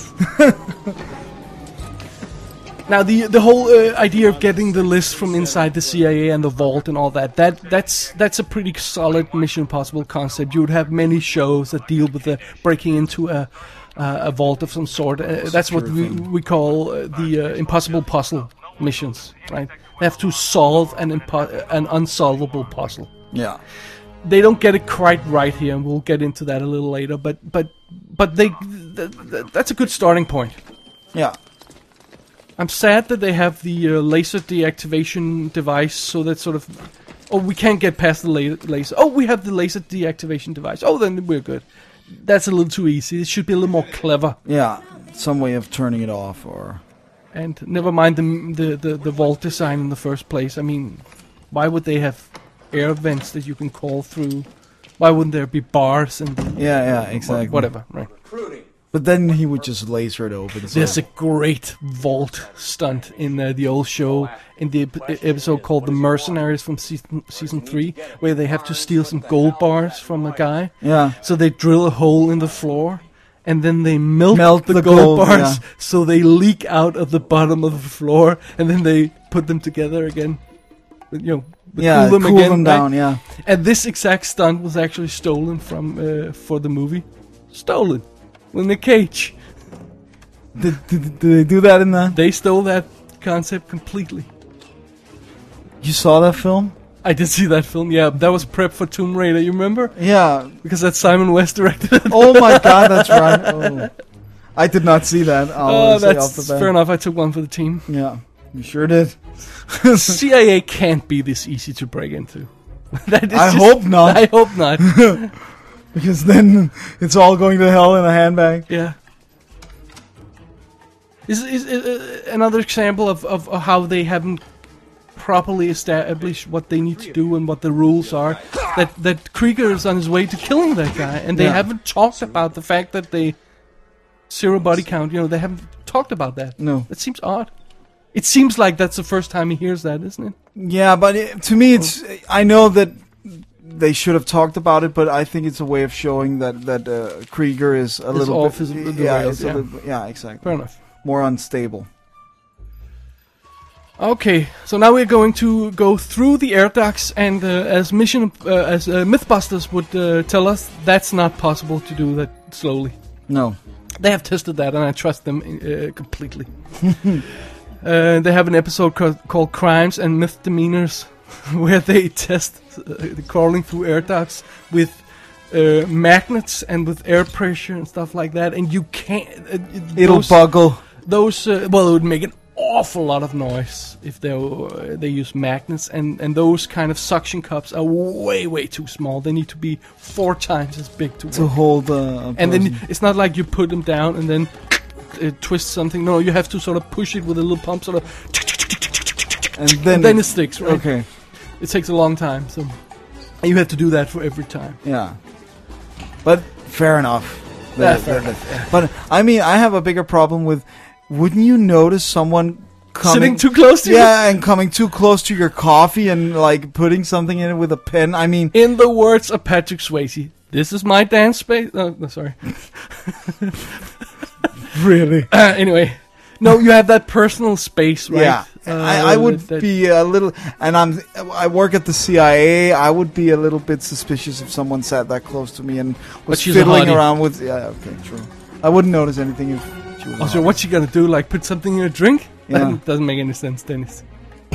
Now the the whole uh, idea of getting the list from inside the C I A and the vault and all that that that's that's a pretty solid Mission Impossible concept. You would have many shows that deal with the breaking into a uh, a vault of some sort. Uh, that's what we we call uh, the uh, impossible puzzle missions, right? They have to solve an impo- an unsolvable puzzle. Yeah. They don't get it quite right here, and we'll get into that a little later. But but but they th- th- that's a good starting point. Yeah. I'm sad that they have the uh, laser deactivation device, so that sort of, oh, we can't get past the la- laser. Oh, we have the laser deactivation device. Oh, then we're good. That's a little too easy. It should be a little more clever. Yeah, some way of turning it off, or And never mind the the the, the vault design in the first place. I mean, why would they have air vents that you can call through? Why wouldn't there be bars and yeah, yeah, exactly. whatever, right? But then he would just laser it open. So. There's a great vault stunt in uh, the old show, in the ep- episode called The Mercenaries from season, season three, where they have to steal some gold bars from a guy. Yeah. So they drill a hole in the floor, and then they melt, Melt the, the gold, gold, bars, yeah. so they leak out of the bottom of the floor, and then they put them together again. You know, Yeah, cool them cool again, them right? down, yeah. And this exact stunt was actually stolen from uh, for the movie. Stolen. In the cage. Did, did, did they do that in the... They stole that concept completely. You saw that film? I did see that film, yeah. That was prep for Tomb Raider, you remember? Yeah. Because that's Simon West directed it. Oh my god, that's right. Oh. I did not see that. I'll Oh, say off that's the bat. fair enough. I took one for the team. Yeah, you sure did. C I A can't be this easy to break into. That is I just- hope not. I hope not. Because then it's all going to hell in a handbag. Yeah. Is is, is uh, another example of, of how they haven't properly established what they need to do and what the rules are. That that Krieger is on his way to killing that guy, and they Yeah. haven't talked about the fact that they zero body count. You know, they haven't talked about that. No. That seems odd. It seems like that's the first time he hears that, isn't it? Yeah, but it, to me, it's. I know that they should have talked about it, but I think it's a way of showing that that uh, Krieger is a It's little off bit. his- the yeah, rails, it's a yeah. little, yeah, exactly. Fair enough. More unstable. Okay, so now we're going to go through the air ducts, and uh, as mission uh, as uh, Mythbusters would uh, tell us, that's not possible to do that slowly. No. They have tested that, and I trust them uh, completely. uh, they have an episode co- called "Crimes and Misdemeanors," where they test uh, crawling through air ducts with uh, magnets and with air pressure and stuff like that, and you can't. Uh, It'll those, buckle. Those uh, well, it would make an awful lot of noise if they uh, they use magnets, and and those kind of suction cups are way way too small. They need to be four times as big to work. To hold. Uh, a And then person. it's not like you put them down and then uh, twist something. No, you have to sort of push it with a little pump, sort of, and then, and then it sticks. Right? Okay. It takes a long time, so you have to do that for every time. Yeah. But fair enough. Yeah, The- fair the- the- But I mean, I have a bigger problem with. Wouldn't you notice someone coming Sitting too close to yeah, and coming too close to your coffee and like putting something in it with a pen? I mean, you. In the words of Patrick Swayze, "This is my dance space." Oh, no, sorry. really? Uh, anyway, no, you have that personal space, right? Yeah. I, I Uh, would that- be a little, and I'm. I work at the C I A. I would be a little bit suspicious if someone sat that close to me and was she's a fiddling hottie. around with. Yeah, okay, true. I wouldn't notice anything if she was. Oh, a so hottie. what's she gonna do? Like put something in a drink? Yeah. That doesn't make any sense, Dennis.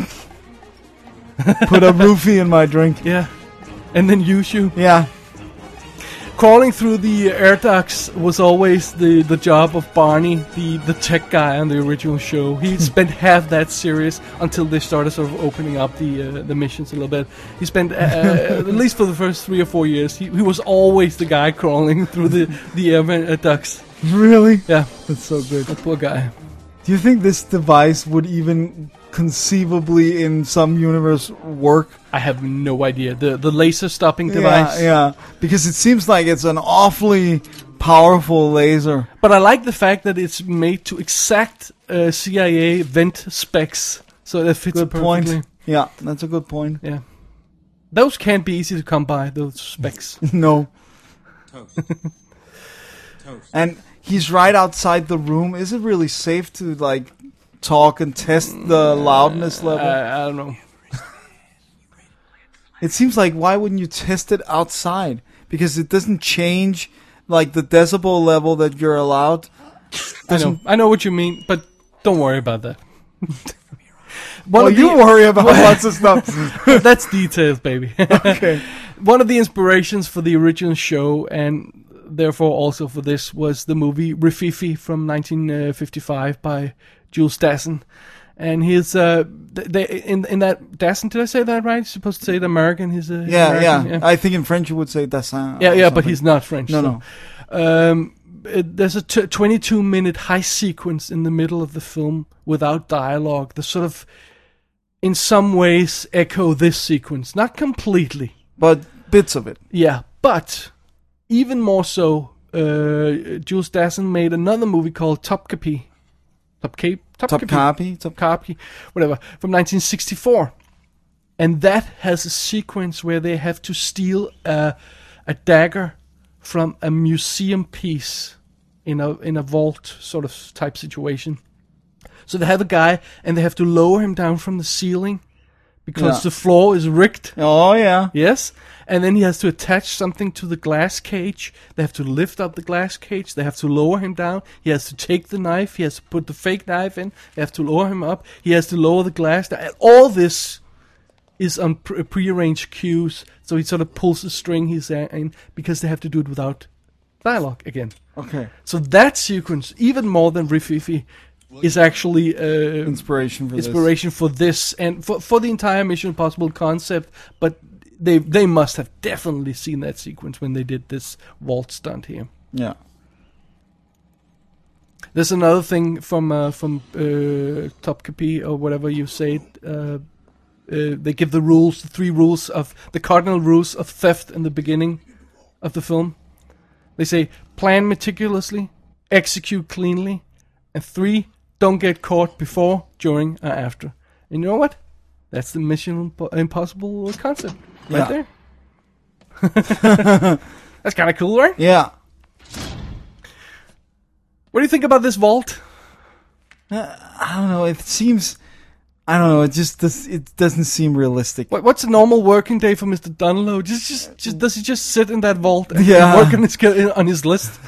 Put a roofie in my drink? Yeah, and then use you. Yeah. Crawling through the air ducts was always the, the job of Barney, the, the tech guy on the original show. He spent half that series until they started sort of opening up the uh, the missions a little bit. He spent, uh, uh, at least for the first three or four years, he, he was always the guy crawling through the, the air uh, ducts. Really? Yeah, That's so good. that poor guy. Do you think this device would even conceivably in some universe work? I have no idea. The the laser stopping device. Yeah, yeah. Because it seems like it's an awfully powerful laser. But I like the fact that it's made to exact uh, C I A vent specs, so it fits Good perfectly. point. Yeah, that's a good point. Yeah. Those can't be easy to come by, those specs. No. Toast. Toast. And he's right outside the room. Is it really safe to like talk and test the loudness level? I, I don't know. It seems like why wouldn't you test it outside? Because it doesn't change like the decibel level that you're allowed. I know. I know what you mean, but don't worry about that. One Well, of the- you worry about lots of stuff. That's details, baby. Okay. One of the inspirations for the original show, and therefore also for this, was the movie Rififi from nineteen fifty-five by Jules Dassin. And he's uh, they, in in that Dassin. Did I say that right? You're supposed to say it American. He's a he's Yeah, American, yeah, I think in French you would say Dassin. Yeah, or yeah, but something. he's not French. No, so. no. Um, it, there's a t- twenty-two minute heist sequence in the middle of the film without dialogue. The sort of, in some ways, echo this sequence. Not completely, But bits of it. yeah, but even more so. Uh, Jules Dassin made another movie called Topkapi. Topkapi. Top copy. Top Topkapi, whatever, from nineteen sixty-four. And that has a sequence where they have to steal a, a dagger from a museum piece in a in a vault sort of type situation. So they have a guy and they have to lower him down from the ceiling because Yeah. the floor is rigged. Oh, yeah. Yes, and then he has to attach something to the glass cage. They have to lift up the glass cage. They have to lower him down. He has to take the knife. He has to put the fake knife in. They have to lower him up. He has to lower the glass down. And all this is on pre- prearranged cues. So he sort of pulls the string he's in because they have to do it without dialogue again. Okay. So that sequence, even more than Rififi, is actually uh, Inspiration for inspiration for this and for for the entire Mission Impossible concept. But they they must have definitely seen that sequence when they did this vault stunt here. this. Yeah. There's another thing from uh, from uh, Topkapi or whatever you say. It, uh, uh, they give the rules, the three rules of the cardinal rules of theft in the beginning of the film. They say plan meticulously, execute cleanly, and three, don't get caught before, during, or after. And you know what? That's the Mission Impo- Impossible concept right Yeah. there. That's kind of cool, right? Yeah. What do you think about this vault? I don't know. It seems. I don't know. It just does. It doesn't seem realistic. What, what's a normal working day for Mister Dunlow? Just, just, just, does he just sit in that vault and Yeah. work on his on his list?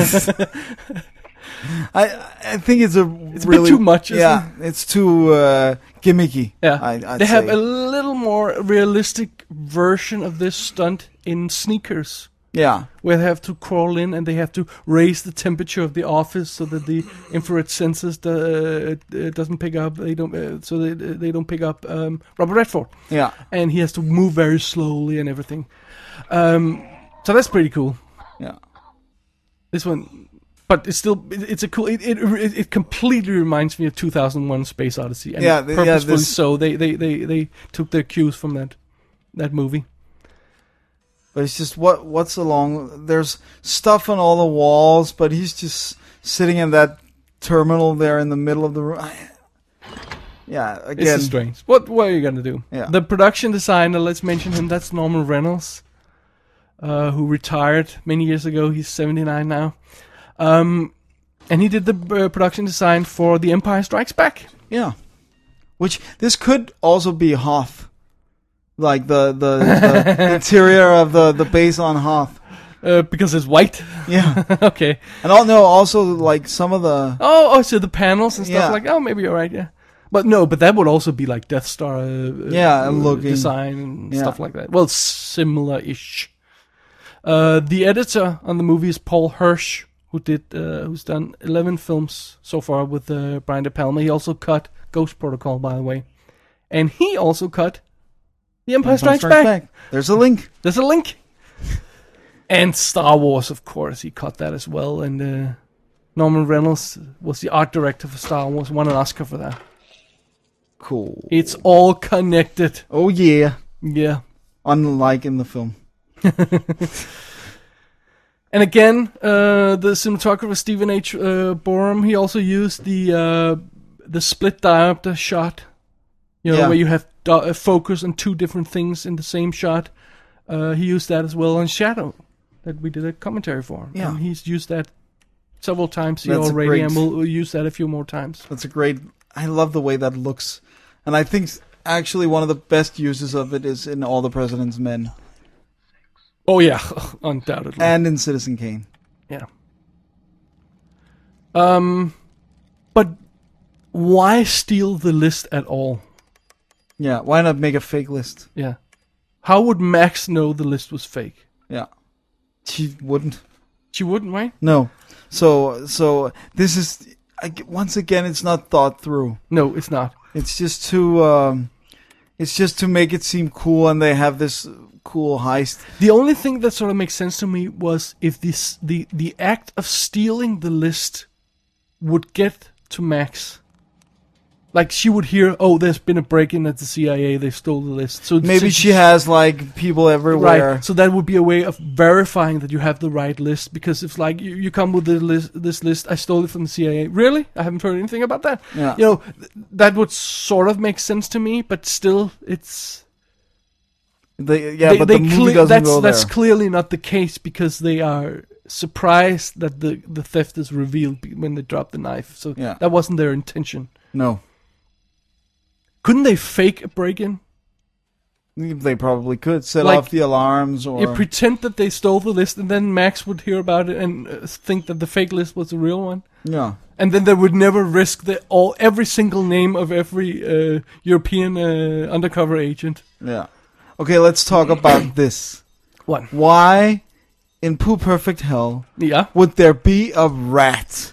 I I think it's a It's a bit really too much, isn't Yeah, it's too uh, gimmicky. Yeah, I, I'd they have say. a little more realistic version of this stunt in Sneakers, Yeah, where they have to crawl in and they have to raise the temperature of the office so that the infrared sensors do, uh, doesn't pick up. They don't, uh, so they they don't pick up um, Robert Redford, yeah, and he has to move very slowly and everything. Um, so that's pretty cool. yeah. This one, but it's still it, it's a cool. It, it it completely reminds me of two thousand one: Space Odyssey, and Yeah, the- yeah, purposefully this- so. They, they they they took their cues from that that movie. But it's just what what's along. There's stuff on all the walls, but he's just sitting in that terminal there in the middle of the room. I, yeah, It's again. just strange. What what are you gonna do? Yeah. The production designer, let's mention him. That's Norman Reynolds, uh, who retired many years ago. He's seventy-nine now, um, and he did the uh, production design for The Empire Strikes Back. Yeah, which this could also be Hoth, like the the, the interior of the the base on Hoth. Uh, because it's white. Yeah, Okay. and all no, also like some of the Oh, oh, so the panels and stuff Yeah. like. Oh, maybe you're right. Yeah, but no, but that would also be like Death Star. Uh, Yeah, uh, looking. design and Yeah. stuff like that. Well, similar-ish. Uh, the editor on the movie is Paul Hirsch, who did uh, who's done eleven films so far with uh, Brian De Palma. He also cut Ghost Protocol, by the way, and he also cut The Empire, Strikes, Back. There's a link. There's a link. And Star Wars, of course, he cut that as well. And uh, Norman Reynolds was the art director for Star Wars, won an Oscar for that. Cool. It's all connected. Oh yeah. Yeah. Unlike in the film. And again, uh, the cinematographer Stephen H. Uh, Borum, he also used the uh, the split diopter shot. You know, Yeah. where you have do- uh, focus on two different things in the same shot. Uh, he used that as well on Shadow, that we did a commentary for. Yeah. And he's used that several times here That's a already, great- and we'll, we'll use that a few more times. That's a great. I love the way that looks, and I think actually one of the best uses of it is in All the President's Men Oh yeah, undoubtedly. and in Citizen Kane. Yeah. Um, but why steal the list at all? Yeah, why not make a fake list? Yeah. How would Max know the list was fake? Yeah, she wouldn't. She wouldn't, right? No. So so this is I, once again, it's not thought through. No, it's not. It's just to um, it's just to make it seem cool, and they have this cool heist. The only thing that sort of makes sense to me was if this the the act of stealing the list would get to Max. Like, she would hear, oh, there's been a break-in at the C I A, they stole the list. So Maybe so she has, like, people everywhere. Right, so that would be a way of verifying that you have the right list, because if, like, you, you come with the list, this list, I stole it from the C I A. Really? I haven't heard anything about that. Yeah. You know, th- that would sort of make sense to me, but still, it's... They, yeah, they, but they the movie cle- doesn't that's, go there. That's clearly not the case, because they are surprised that the, the theft is revealed when they drop the knife. So Yeah. that wasn't their intention. No. Couldn't they fake a break-in? They probably could set Like, off the alarms or... You pretend that they stole the list, and then Max would hear about it and uh, think that the fake list was the real one. Yeah. And then they would never risk the all every single name of every uh, European uh, undercover agent. Yeah. Okay, let's talk about this. What? Why, in Pooh Perfect Hell, Yeah. would there be a rat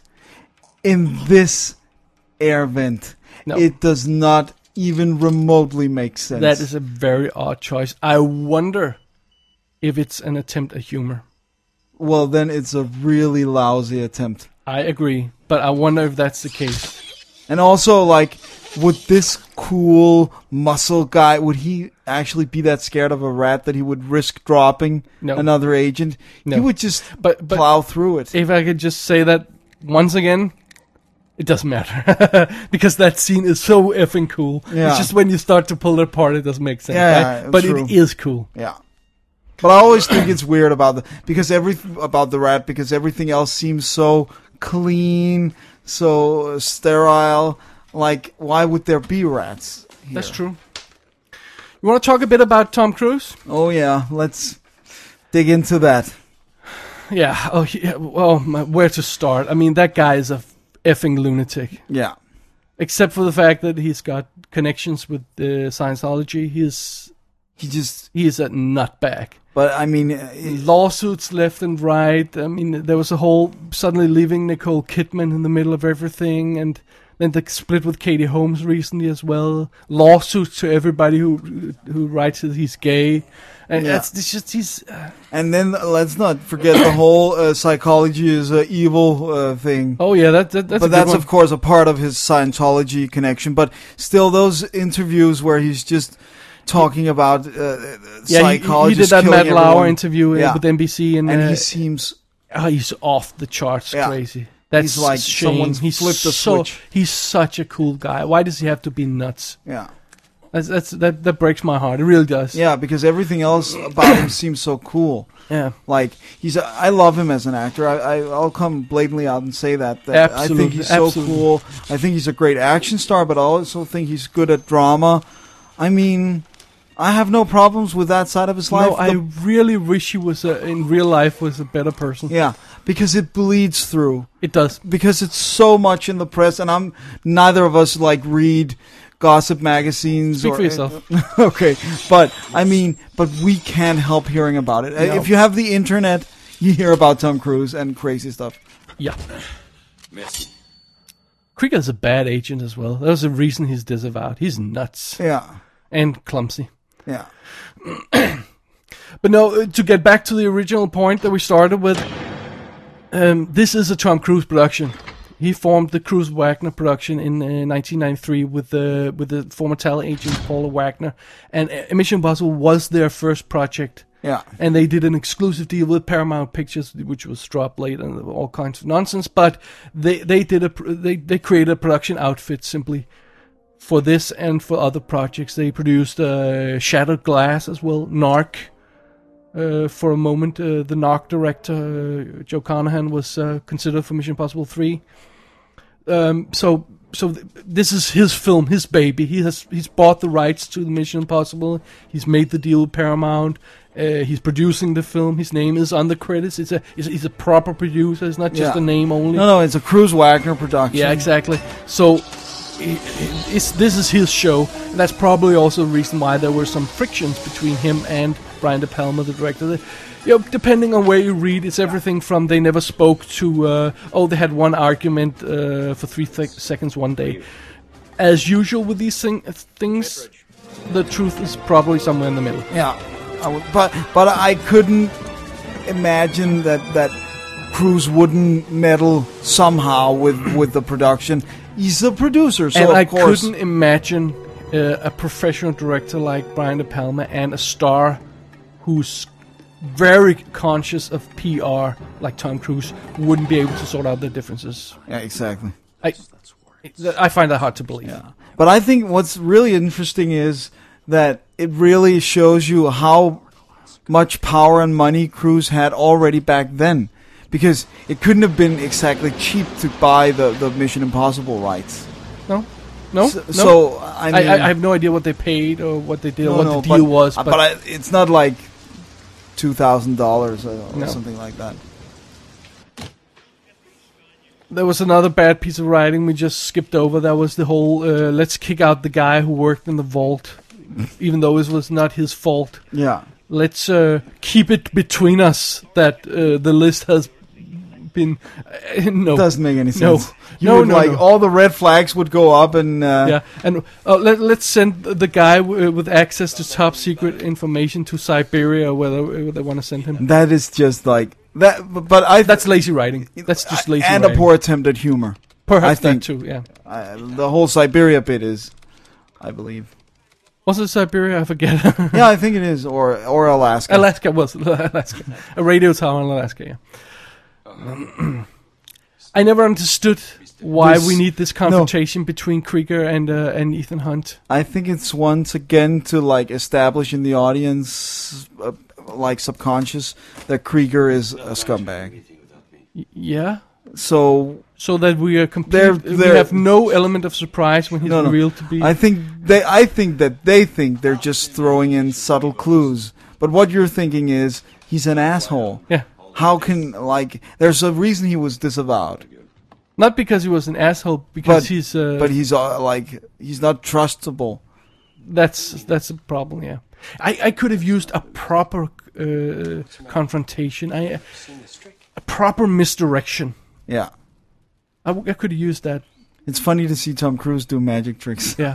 in this air vent? No. It does not even remotely make sense. That is a very odd choice. I wonder if it's an attempt at humor. Well, then it's a really lousy attempt. I agree, but I wonder if that's the case. And also, like, would this cool muscle guy, would he actually be that scared of a rat that he would risk dropping No. another agent? No. He would just But- but- plow through it. If I could just say that once again, it doesn't matter. Because that scene is so effing cool. Yeah. It's just when you start to pull it apart, it doesn't make sense. Yeah, right? But true. it is cool. Yeah. But I always think it's weird about the because every about the rat because everything else seems so clean, so sterile. Like, why would there be rats here? That's true. You want to talk a bit about Tom Cruise? Oh yeah, let's dig into that. Yeah. Oh, yeah. Well, my- where to start? I mean, that guy is a effing lunatic. Yeah. Except for the fact that he's got connections with uh, Scientology, he's He just, he is a nutbag. but I mean, it, Lawsuits left and right. I mean, there was a whole suddenly leaving Nicole Kidman in the middle of everything, and then the split with Katie Holmes recently as well. Lawsuits to everybody who who writes that he's gay, and Yeah. it's, it's just he's. Uh, and then let's not forget the whole uh, psychology is uh, evil uh, thing. oh yeah, that, that that's but a good that's one. of course a part of his Scientology connection. But still, those interviews where he's just talking about uh, yeah, he, he psychologists did that killing Matt Lauer everyone. interview uh, Yeah. with N B C, and, and uh, he seems oh, he's off the charts, Yeah. crazy. That's He's like a shame. someone's he's flipped a so, switch. He's such a cool guy. Why does he have to be nuts? yeah. That's, that's that that breaks my heart. It really does. Yeah, because everything else about him seems so cool. Yeah. Like he's, a, I love him as an actor. I, I, I'll come blatantly out and say that. that I Absolutely, think he's so absolutely. cool. I think he's a great action star, but I also think he's good at drama. I mean, I have no problems with that side of his life. No, I The- really wish he was a, in real life was a better person. yeah, because it bleeds through. It does. Because it's so much in the press, and I'm neither of us like read gossip magazines. Speak or, for yourself. Okay, but I mean, but we can't help hearing about it. No. If you have the internet, you hear about Tom Cruise and crazy stuff. Yeah. Miss. Krieger's a bad agent as well. There's a reason he's disavowed. He's nuts Yeah, and clumsy. yeah, But no, uh, to get back to the original point that we started with, um, this is a Tom Cruise production. He formed the Cruise Wagner production in uh, nineteen ninety-three with the with the former talent agent Paula Wagner, and uh, Mission Impossible was their first project. yeah. And they did an exclusive deal with Paramount Pictures, which was dropped late and all kinds of nonsense. But they they did a pr- they they created a production outfit simply for this and for other projects. They produced uh, Shattered Glass as well, Narc. Uh, for a moment, uh, the Narc director uh, Joe Carnahan was uh, considered for Mission Impossible three. Um, so so th- this is his film, his baby. He has he's bought the rights to the Mission Impossible. He's made the deal with Paramount. Uh, he's producing the film. His name is on the credits. It's a he's, he's a proper producer. It's not just Yeah. a name only. No, no, it's a Cruise Wagner production. Yeah, exactly. So i- i- it's this is his show. And that's probably also the reason why there were some frictions between him and Brian De Palma, the director. They, you know, depending on where you read, it's everything from they never spoke to uh, oh they had one argument uh, for three th- seconds one day. As usual with these thing, things, the truth is probably somewhere in the middle. Yeah, I would, but but I couldn't imagine that that Cruise wouldn't meddle somehow with, with the production. He's the producer, so and of I course. couldn't imagine uh, a professional director like Brian De Palma and a star who's very conscious of P R like Tom Cruise wouldn't be able to sort out their differences. Yeah, exactly. I I find that hard to believe. Yeah. But I think what's really interesting is that it really shows you how much power and money Cruise had already back then. Because it couldn't have been exactly cheap to buy the, the Mission Impossible rights. No? No? So, no? so I mean... I, I have no idea what they paid or what they did no, or what no, the deal but, was. But, But, I, it's not like two thousand dollars or, or No. something like that. there was another bad piece of writing we just skipped over. That was the whole, uh, let's kick out the guy who worked in the vault, even though it was not his fault. Yeah. Let's uh, keep it between us that uh, the list has been... Uh, no. Doesn't make any No. sense. You No, would, no, like, no. all the red flags would go up and... Uh, Yeah, and uh, let, let's send the guy w- with access to top secret information to Siberia, or whether, whether they want to send him. That is just like... that. But I... That's lazy writing. That's just lazy and writing. a poor attempt at humor. Perhaps I think- that too, yeah. Uh, the whole Siberia bit is, I believe. Was it Siberia? I forget. Yeah, I think it is, or or Alaska. Alaska was Alaska. A radio tower in Alaska, yeah. I never understood why This- we need this confrontation between Krieger and uh, and Ethan Hunt. I think it's once again to like establish in the audience, uh, like subconscious, that Krieger is a scumbag. Y- yeah. So So that we are complete. They're- we they're- have no element of surprise when he's No, no. revealed to be. I think they, I think that they think they're just throwing in subtle clues. But what you're thinking is he's an asshole. yeah. How can like? There's a reason he was disavowed. Not because he was an asshole, because But he's. Uh, but he's uh, like he's not trustable. That's that's a problem. Yeah, I, I could have used a proper uh, confrontation. I a proper misdirection. Yeah. I, w- I could have used that. It's funny to see Tom Cruise do magic tricks. Yeah,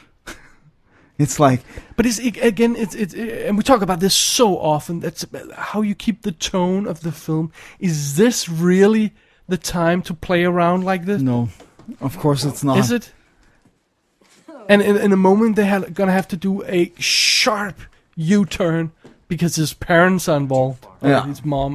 It's like, but it's it, again it's it's it, and we talk about this so often. That's how you keep the tone of the film. Is this really the time to play around like this? no, of course it's not. Is it? And in, in a moment they are gonna have to do a sharp U-turn because his parents are involved, or Yeah. his mom.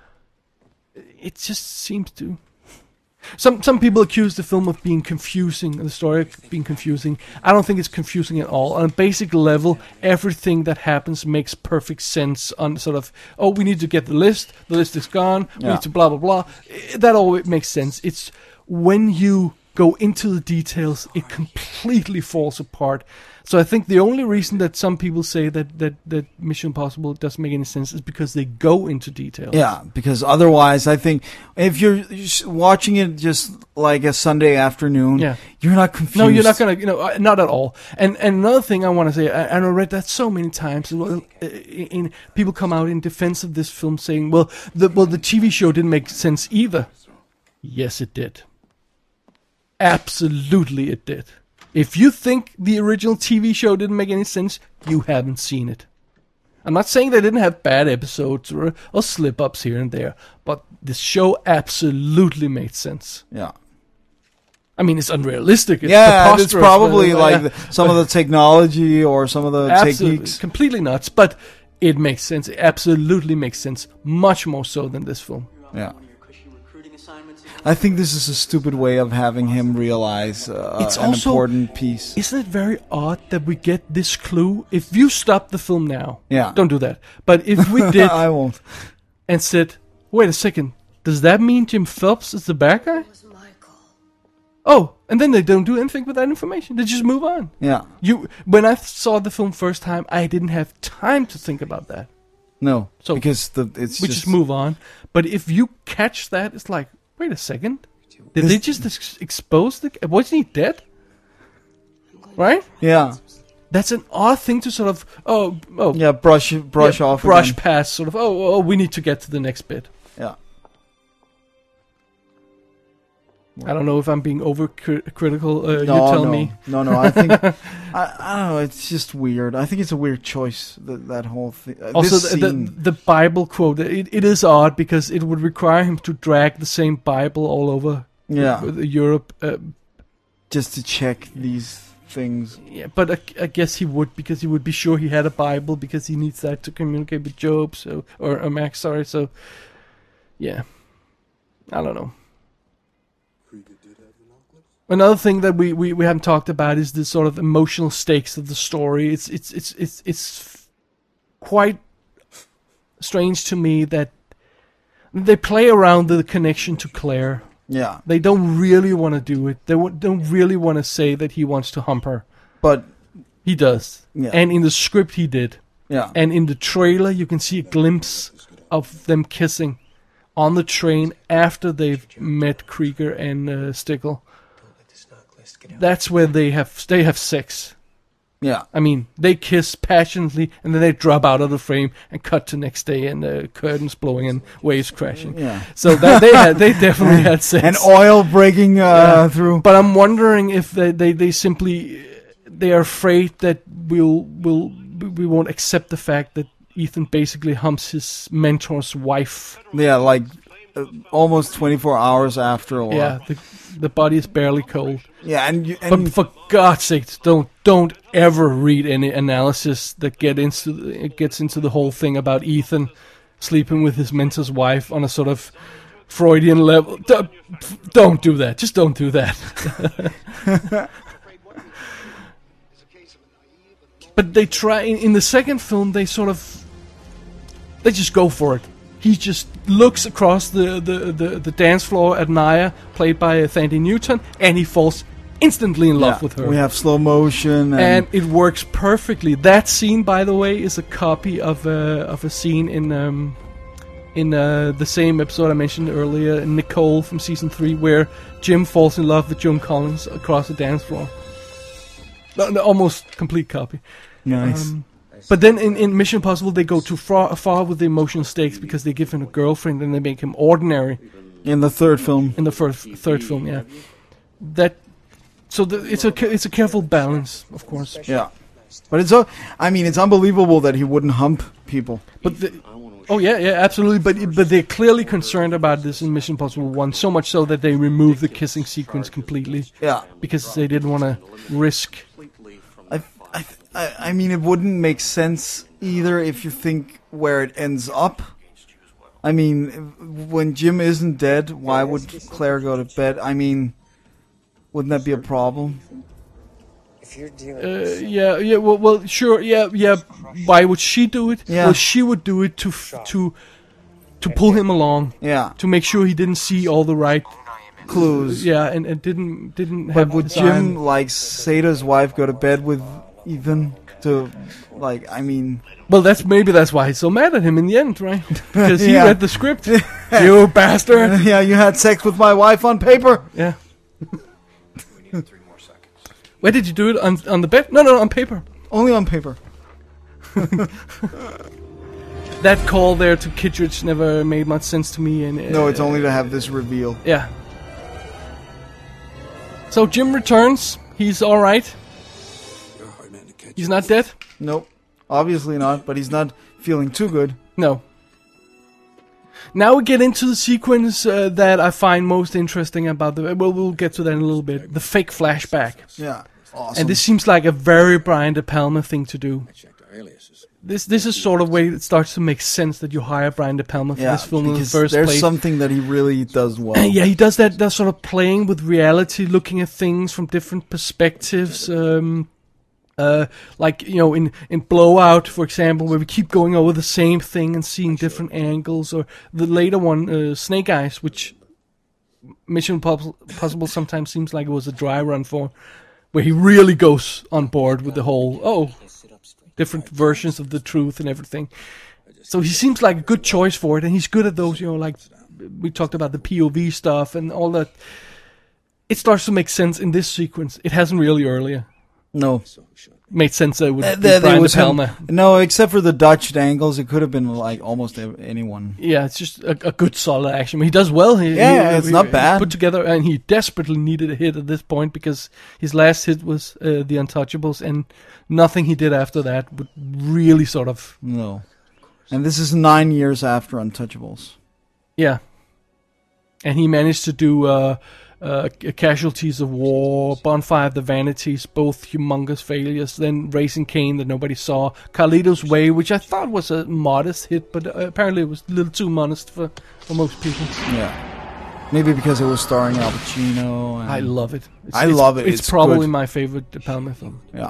It just seems to. Some some people accuse the film of being confusing, the story of being confusing. I don't think it's confusing at all. On a basic level, everything that happens makes perfect sense. On sort of, oh, we need to get the list. The list is gone. We Yeah. need to blah blah blah. I- That all makes sense. It's when you go into the details, it completely falls apart. So I think the only reason that some people say that, that, that Mission Impossible doesn't make any sense is because they go into details. Yeah, because otherwise, I think if you're just watching it just like a Sunday afternoon, Yeah. you're not confused. No, you're not gonna, you know, uh, not at all. And and another thing I want to say, I, and I read that so many times. Well, uh, in, in people come out in defense of this film, saying, "Well, the well the T V show didn't make sense either." Yes, it did. Absolutely, it did. If you think the original T V show didn't make any sense, you haven't seen it. I'm not saying they didn't have bad episodes or, or slip-ups here and there, but the show absolutely made sense. Yeah. I mean, it's unrealistic. It's Yeah, it's preposterous, probably but, like uh, the, some of the technology or some of the absolutely, techniques. completely nuts. But it makes sense. It absolutely makes sense. Much more so than this film. Yeah. I think this is a stupid way of having him realize uh, It's an also- important piece. Isn't it very odd that we get this clue? If you stop the film now, Yeah. don't do that. But if we did I won't. and said, "Wait a second, does that mean Jim Phelps is the bad guy?" Oh, and then they don't do anything with that information. They just move on. Yeah. You, when I saw the film first time, I didn't have time to think about that. No. So, because the it's We just, just move on. But if you catch that, it's like, wait a second. Did This- they just ex- expose the... Wasn't he dead? Right? Yeah. That's an odd thing to sort of oh oh Yeah, brush brush yeah, off. brush again. past. Sort of oh oh we need to get to the next bit. Yeah. I don't know if I'm being overcritical. Uh, No, you tell no, me. no, no. I think I, I don't know. It's just weird. I think it's a weird choice. That that whole thing. Uh, Also, this the, scene. the the Bible quote. It, it is odd because it would require him to drag the same Bible all over Yeah. Europe. Uh, just to check these things. yeah, but I, I guess he would because he would be sure he had a Bible because he needs that to communicate with Job. So or, or Max, sorry. So yeah, I don't know. Another thing that we, we, we haven't talked about is the sort of emotional stakes of the story. It's it's it's it's it's quite strange to me that they play around the connection to Claire. Yeah. They don't really want to do it. They w- don't really want to say that he wants to hump her. But He does. Yeah. And in the script he did. yeah. And in the trailer you can see a glimpse of them kissing on the train after they've met Krieger and uh, Stickle. That's where they have they have sex. yeah. I mean, they kiss passionately, and then they drop out of the frame and cut to next day, and uh, curtains blowing and waves crashing. Yeah. So that they had, they definitely had sex. And oil breaking uh, Yeah. through. But I'm wondering if they, they, they simply they are afraid that we'll will we won't accept the fact that Ethan basically humps his mentor's wife. Yeah, like uh, almost twenty-four hours after a while. Yeah, the, the body is barely cold. Yeah, and you, and But for God's sake, don't don't ever read any analysis that get into the, it gets into the whole thing about Ethan sleeping with his mentor's wife on a sort of Freudian level. Don't, don't do that. Just don't do that. But they try in, in the second film. They sort of they just go for it. He just looks across the, the, the, the dance floor at Naya, played by Thandie Newton, and he falls instantly in love yeah, with her. we have slow motion, and, and it works perfectly. That scene, by the way, is a copy of a of a scene in um, in uh, the same episode I mentioned earlier, Nicole from season three, where Jim falls in love with Joan Collins across the dance floor. No, no, almost complete copy. nice. Um, but then in, in Mission Impossible, they go too far, far with the emotional stakes because they give him a girlfriend and they make him ordinary. In the third film, In the first, third film, yeah. That so the, it's a ca- it's a careful balance, of course. yeah. But it's so. I mean, it's unbelievable that he wouldn't hump people. But the, oh yeah, yeah, absolutely. But but they're clearly concerned about this in Mission Impossible One, so much so that they removed the kissing sequence completely Yeah. because they didn't want to risk. I, I, I I mean, it wouldn't make sense either if you think where it ends up. I mean, when Jim isn't dead, why would Claire go to bed? I mean, wouldn't that be a problem? If you're dealing Uh, with yeah, yeah. Well, well, sure. Yeah, yeah. Why would she do it? Yeah. Well, she would do it to f- to to pull him along, Yeah, to make sure he didn't see all the right. clues. Yeah, and, and didn't didn't But have. would his eye Jim, on- like, say to his wife, go to bed with Ethan? To, like, I mean... Well, that's maybe that's why he's so mad at him in the end, right? Because he Yeah. read the script. You bastard. Yeah, you had sex with my wife on paper? Yeah. Where did you do it? On on the bed? No, no, on paper. Only on paper. That call there to Kittredge never made much sense to me. And uh, No, it's only to have this reveal. yeah. So Jim returns. He's all right. You're a hard man to catch. He's not dead. Nope. Obviously not, but he's not feeling too good. No. Now we get into the sequence uh, that I find most interesting about the. Well, we'll get to that in a little bit. The fake flashback, Yeah. Awesome. and this seems like a very Brian De Palma thing to do. Checked our aliases. This this is sort of way it starts to make sense that you hire Brian De Palma for yeah, this film in the because first there's place. something that he really does well. Yeah, he does that. That sort of playing with reality, looking at things from different perspectives. Um, uh, like you know, in in Blowout, for example, where we keep going over the same thing and seeing different angles, or the later one, uh, Snake Eyes, which Mission Impossible Possible sometimes seems like it was a dry run for, where he really goes on board with the whole oh, different versions of the truth and everything. So he seems like a good choice for it, and he's good at those. You know, like we talked about the P O V stuff and all that. It starts to make sense in this sequence. It hasn't really earlier. No. made sense that it would Uh, be there- there Brian De was him. Palma. No, except for the Dutch angles, it could have been like almost ev- anyone. Yeah, it's just a, a good solid action. He does well. He, Yeah, he- it's he- not he's bad. Put together, and he desperately needed a hit at this point because his last hit was uh, The Untouchables, and nothing he did after that would really sort of No. And this is nine years after Untouchables. yeah. And he managed to do uh, uh, Casualties of War, Bonfire of the Vanities, both humongous failures. Then Raising Cain that nobody saw, Carlito's Way, which I thought was a modest hit, but uh, apparently it was a little too modest for, for most people. Yeah. Maybe because it was starring Al Pacino. And, I love it. It's, I it's- love it. It's, It's probably good. my favorite De Palma film. Yeah.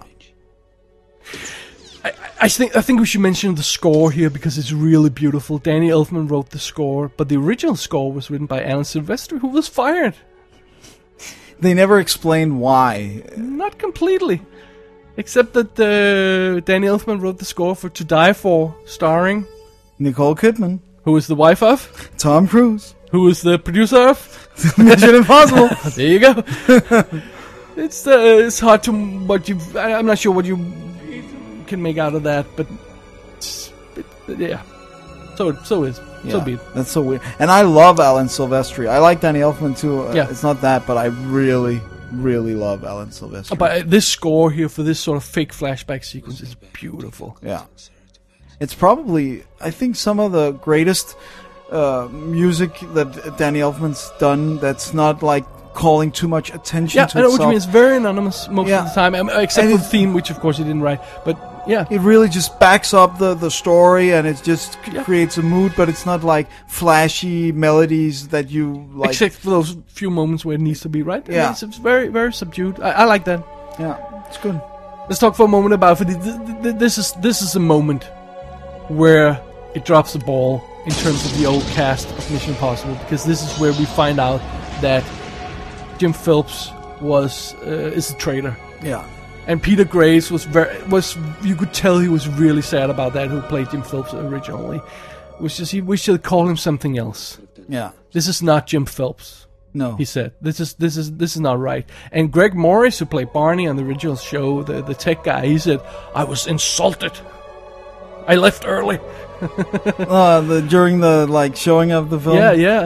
I, I think I think we should mention the score here because it's really beautiful. Danny Elfman wrote the score, but the original score was written by Alan Silvestri, who was fired. They never explained why. Not completely, except that uh, Danny Elfman wrote the score for To Die For, starring Nicole Kidman, who is the wife of, Tom Cruise, who is the producer of. Mission Impossible. There you go. It's uh, it's hard to what you. I- I'm not sure what you can make out of that, but it's, it, yeah. So so is so Yeah, be it. That's so weird. And I love Alan Silvestri. I like Danny Elfman too. Uh, Yeah. It's not that, but I really, really love Alan Silvestri. But uh, this score here for this sort of fake flashback sequence is beautiful. Yeah. It's probably, I think, some of the greatest uh, music that Danny Elfman's done that's not like calling too much attention Yeah, to I know what you itself. mean. It's very anonymous most Yeah. of the time, um, except And for the it's- theme, which of course he didn't write. But yeah, It really just backs up the, the story and it just c- Yeah. creates a mood, but it's not like flashy melodies that you like. except for those few moments where it needs to be right. Yeah. It's, it's very very subdued. I, I like that. Yeah, it's good. Let's talk for a moment about it. Th- th- th- This is this is a moment where it drops the ball in terms of the old cast of Mission Impossible, because this is where we find out that Jim Phelps was uh, is a traitor, Yeah. and Peter Graves was very was you could tell he was really sad about that. Who played Jim Phelps originally? It was just he we should call him something else. Yeah. This is not Jim Phelps. No. He said, "This is this is this is not right." And Greg Morris, who played Barney on the original show, the the tech guy, he said, "I was insulted. I left early." uh, the, during the like showing of the film. Yeah, yeah.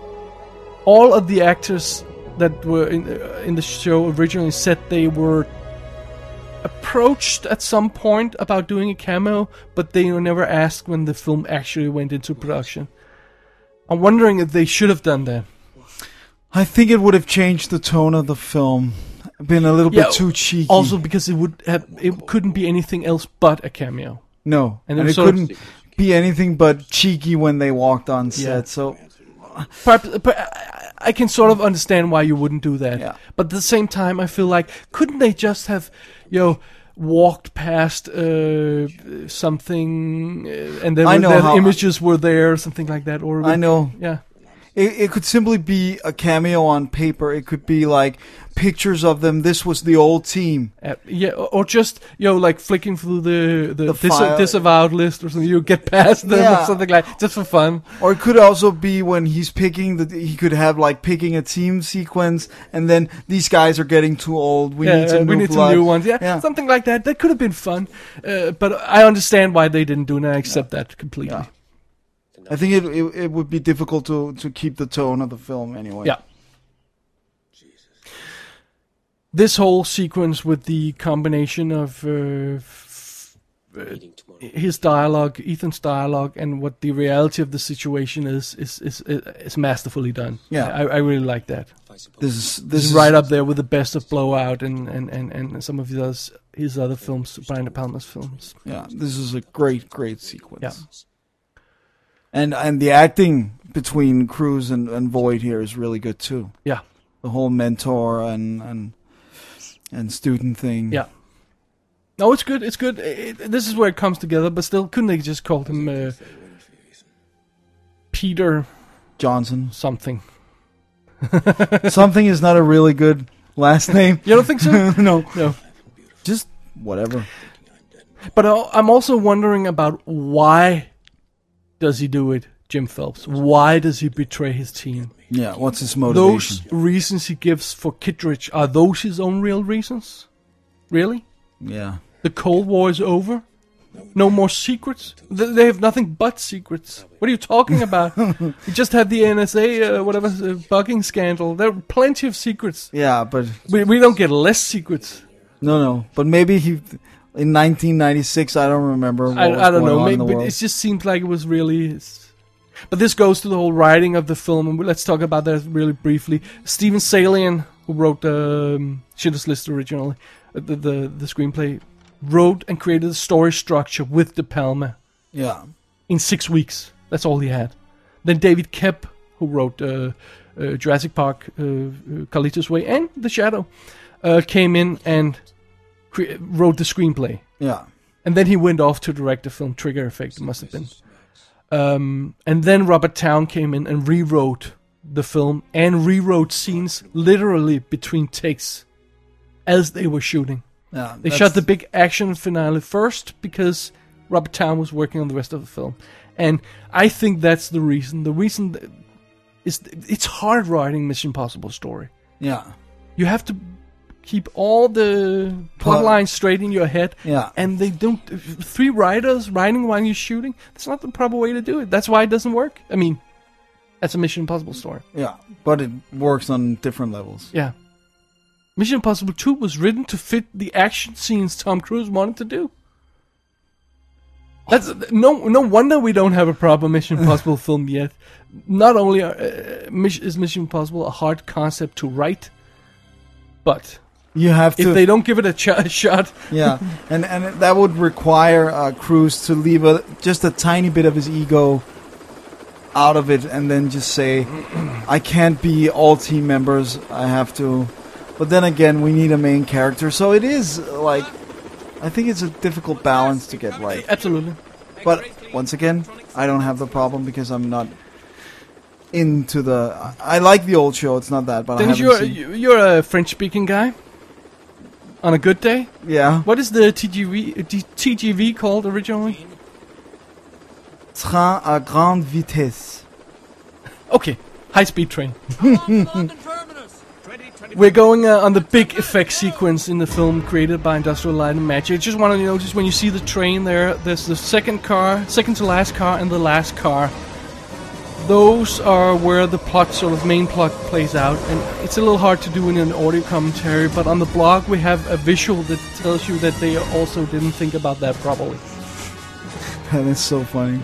All of the actors that were in uh, in the show originally said they were approached at some point about doing a cameo, but they were never asked when the film actually went into production. I'm wondering if they should have done that. I think it would have changed the tone of the film. Been a little Yeah, bit too cheeky. Also, because it would have, it couldn't be anything else but a cameo. no, and and, it it sort of- couldn't be anything but cheeky when they walked on set. Yeah. So Perhaps, but I- I can sort of understand why you wouldn't do that. Yeah. But at the same time, I feel like couldn't they just have, you know, walked past uh, something uh, and then I know the how- images were there, or something like that, or I know. yeah, It, it could simply be a cameo on paper. It could be like pictures of them. This was the old team. uh, yeah, or, or just you know, like flicking through the the, The dis- file. disavowed list or something. You get past them Yeah. or something like just for fun. Or it could also be when he's picking the. He could have like picking a team sequence, and then these guys are getting too old. We yeah, need some uh, new we need blood. some new ones. Yeah, Yeah. something like that. That could have been fun, uh, but I understand why they didn't do it. And I accept that completely. Yeah. I think it, it it would be difficult to to keep the tone of the film anyway. Yeah. This whole sequence with the combination of uh, f- Meeting tomorrow. his dialogue, Ethan's dialogue, and what the reality of the situation is, is is is masterfully done. Yeah. I, I really like that. This is this This is is right up there with the best of Blowout and and, and, and some of his other, his other films, Brian De Palma's films. Yeah, this is a great great sequence. Yeah. And and the acting between Cruise and, and Voight here is really good too. Yeah, The whole mentor and and and student thing. yeah. No, it's good. It's good. It, it- this is where it comes together. But still, couldn't they just call him uh, Peter Johnson. something? Something is not a really good last name. You don't think so? No, No. just whatever. But I- I'm also wondering about why does he do it, Jim Phelps? Why does he betray his team? Yeah, what's his motivation? Those reasons he gives for Kittredge, are those his own real reasons? Really? Yeah. The Cold War is over. No more secrets. Th- They have nothing but secrets. What are you talking about? You just had the N S A, uh, whatever, uh, bugging scandal. There are plenty of secrets. Yeah, but We we don't get less secrets. no, no. But maybe he in nineteen ninety-six. I don't remember. What I, was I don't going know. on Maybe in the but world. it just seemed like it was really. it's- But this goes to the whole writing of the film, and let's talk about that really briefly. Steven Salian, who wrote um, Schindler's List originally, uh, the, the the screenplay, wrote and created the story structure with De Palma Yeah, in six weeks. That's all he had. Then David Koepp, who wrote uh, uh, Jurassic Park, uh, uh, Carlitos Way, and The Shadow, uh, came in and cre- wrote the screenplay. yeah, And then he went off to direct the film Trigger Effect, it must have been. Um, and then Robert Towne came in and rewrote the film and rewrote scenes literally between takes as they were shooting. yeah. They that's- shot the big action finale first because Robert Towne was working on the rest of the film. And I think that's the reason. The reason th- is it's hard writing Mission Impossible story. Yeah, You have to keep all the plot Plot. lines straight in your head. yeah. And they don't. Three writers writing while you're shooting. That's not the proper way to do it. That's why it doesn't work. I mean, that's a Mission Impossible story. Yeah, but it works on different levels. Yeah. Mission Impossible two was written to fit the action scenes Tom Cruise wanted to do. That's no no wonder we don't have a proper Mission Impossible film yet. Not only are, uh, Mission- is Mission Impossible a hard concept to write, but You have if to. they don't give it a, ch- a shot, Yeah, and and that would require uh, Cruise to leave a, just a tiny bit of his ego out of it, and then just say, "I can't be all team members. I have to." But then again, we need a main character, so it is uh, like I think it's a difficult balance to get right. absolutely. But once again, I don't have the problem because I'm not into the. I I like the old show. It's not that, but Dennis, I you're haven't seen. you- you're a French-speaking guy. On a good day, Yeah, what is the T G V D- T G V called originally? train à grande vitesse. Okay, high-speed train. We're going uh, on the big effect sequence in the film created by Industrial Light and Magic. I just want to notice when you see the train there, there's the second car, second to last car, and the last car. Those are where the plot, sort of main plot, plays out, and it's a little hard to do in an audio commentary. But on the blog, we have a visual that tells you that they also didn't think about that properly. That is so funny.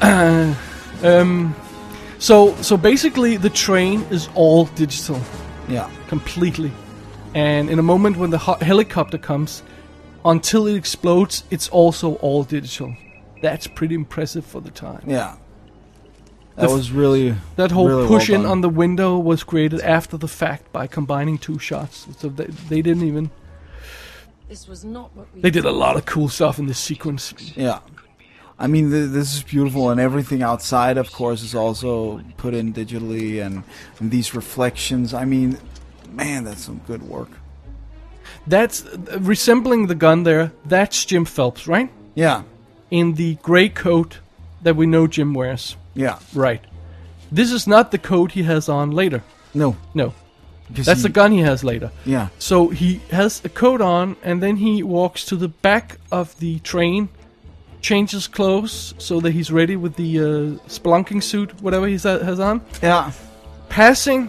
Um, so, so basically, the train is all digital. Yeah. Completely. And in a moment when the ho- helicopter comes, until it explodes, it's also all digital. That's pretty impressive for the time. Yeah. That The f- was really That whole really push well in done. on the window was created after the fact by combining two shots. So they, they didn't even. This was not what we They did a lot of cool stuff in this sequence. Yeah. I mean, th- this is beautiful, and everything outside, of course, is also put in digitally, and, and these reflections. I mean, man, that's some good work. That's uh, resembling the gun there. That's Jim Phelps, right? Yeah, In the gray coat that we know Jim wears. yeah. Right. This is not the coat he has on later. No, No. because That's he- the gun he has later. Yeah, So he has a coat on, and then he walks to the back of the train, changes clothes so that he's ready with the uh, spelunking suit, whatever he has on, yeah, passing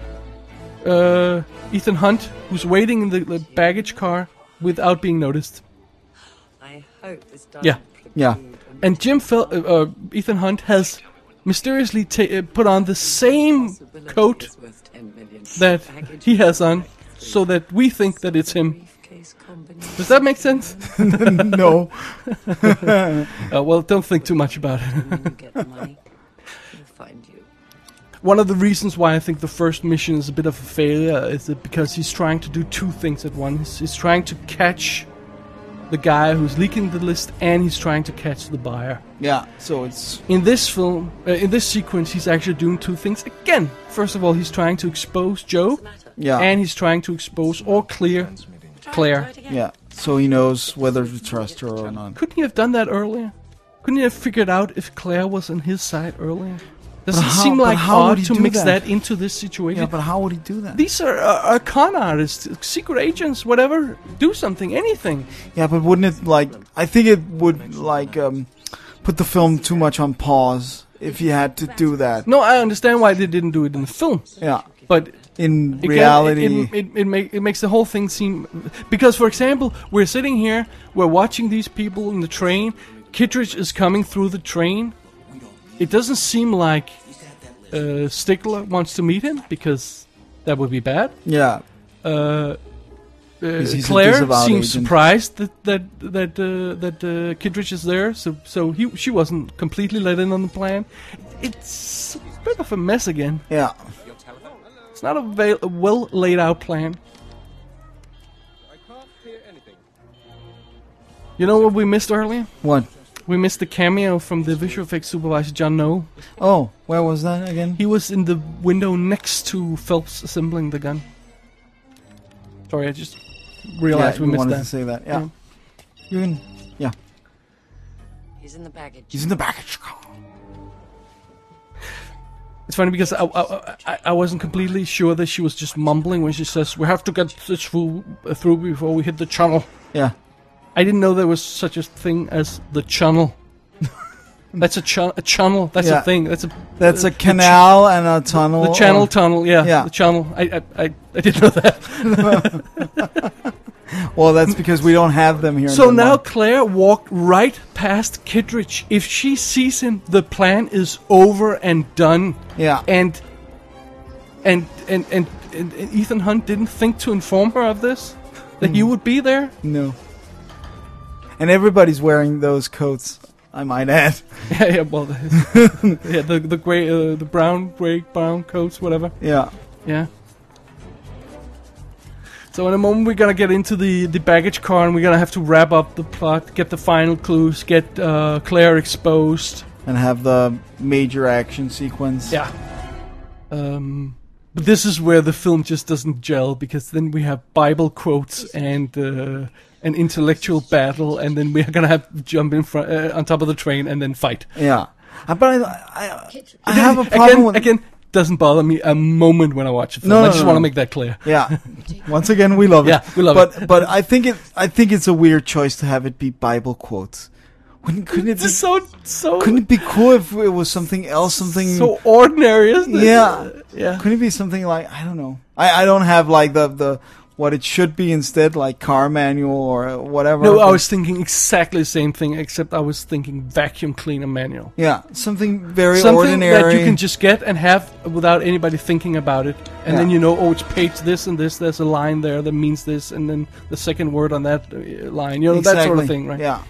uh, Ethan Hunt, who's waiting in the, the baggage car without being noticed. I hope this does. Yeah. yeah. And Jim Fel- uh, uh, Ethan Hunt has mysteriously ta- uh, put on the same coat that he has on, so that we think that it's him. Does that make sense? No, Uh, well, don't think too much about it. Get the money. We'll find you. One of the reasons why I think the first mission is a bit of a failure is that because he's trying to do two things at once. He's trying to catch the guy who's leaking the list, and he's trying to catch the buyer. yeah. So it's In this film, uh, in this sequence, he's actually doing two things again. First of all, he's trying to expose Joe, yeah, and he's trying to expose or clear Claire. yeah. So he knows whether to trust her or not. Couldn't he have done that earlier? Couldn't he have figured out if Claire was on his side earlier? Doesn't But how- seem but like how would odd he to do mix that? that into this situation. Yeah, but how would he do that? These are, are, are con artists, secret agents, whatever. Do something, anything. Yeah, but wouldn't it, like, I think it would, like, um, put the film too much on pause if you had to do that. No, I understand why they didn't do it in the film, Yeah. but In again, reality, it it, it, it, make, it makes the whole thing seem. Because, for example, we're sitting here, we're watching these people in the train. Kittredge is coming through the train. It doesn't seem like uh, Stigler wants to meet him because that would be bad. yeah. Uh, uh, he's a Claire disavowed seems agent. surprised that that that uh, that uh, Kittredge is there, so so he she wasn't completely let in on the plan. It's a bit of a mess again. Yeah. It's not a, va- a well laid out plan. You know what we missed earlier? What? We missed the cameo from the visual effects supervisor John Noel. Oh, where was that again? He was in the window next to Phelps assembling the gun. Sorry, I just realized yeah, we you missed wanted that. to say that. Yeah. Yeah. You can. Yeah. He's in the baggage. He's in the baggage car. It's funny because I, I, I, I wasn't completely sure that she was just mumbling when she says, "We have to get this through, uh, through before we hit the channel." Yeah. I didn't know there was such a thing as the channel. That's a, ch- a channel. That's Yeah. a thing. That's a That's uh, a canal and a tunnel. The channel or- tunnel. Yeah, Yeah. the channel. I, I I I didn't know that. Well, that's because we don't have them here. in So now Denmark. Claire walked right past Kittredge. If she sees him, the plan is over and done. Yeah. And and and and, and, and Ethan Hunt didn't think to inform her of this, that he would be there. No. And everybody's wearing those coats, I might add. Yeah, yeah. Well, the, yeah, the the gray, uh, the brown, gray, brown coats, whatever. Yeah. Yeah. So in a moment we're gonna get into the, the baggage car and we're gonna have to wrap up the plot, get the final clues, get uh, Claire exposed. And have the major action sequence. Yeah. Um, but this is where the film just doesn't gel because then we have Bible quotes and uh, an intellectual battle, and then we're gonna have to jump in front uh, on top of the train and then fight. Yeah. Uh, But I, I, I have a problem again, with... again. Doesn't bother me a moment when I watch a film. No, no, I just no, want to no. make that clear. Yeah. Once again, we love it. Yeah, we love but, it. But I think it. I think it's a weird choice to have it be Bible quotes. Wouldn't, couldn't it It's be? just so so Couldn't it be cool if it was something else? Something. so ordinary, isn't it? Yeah. yeah. Couldn't it be something like, I don't know. I, I don't have like the the what it should be instead, like car manual or whatever. No, I was thinking exactly the same thing, except I was thinking vacuum cleaner manual. Yeah, something very Something ordinary. that you can just get and have without anybody thinking about it. And Yeah. then you know, oh, it's page this and this, there's a line there that means this, and then the second word on that uh, line. You know, that sort of thing, right? Yeah.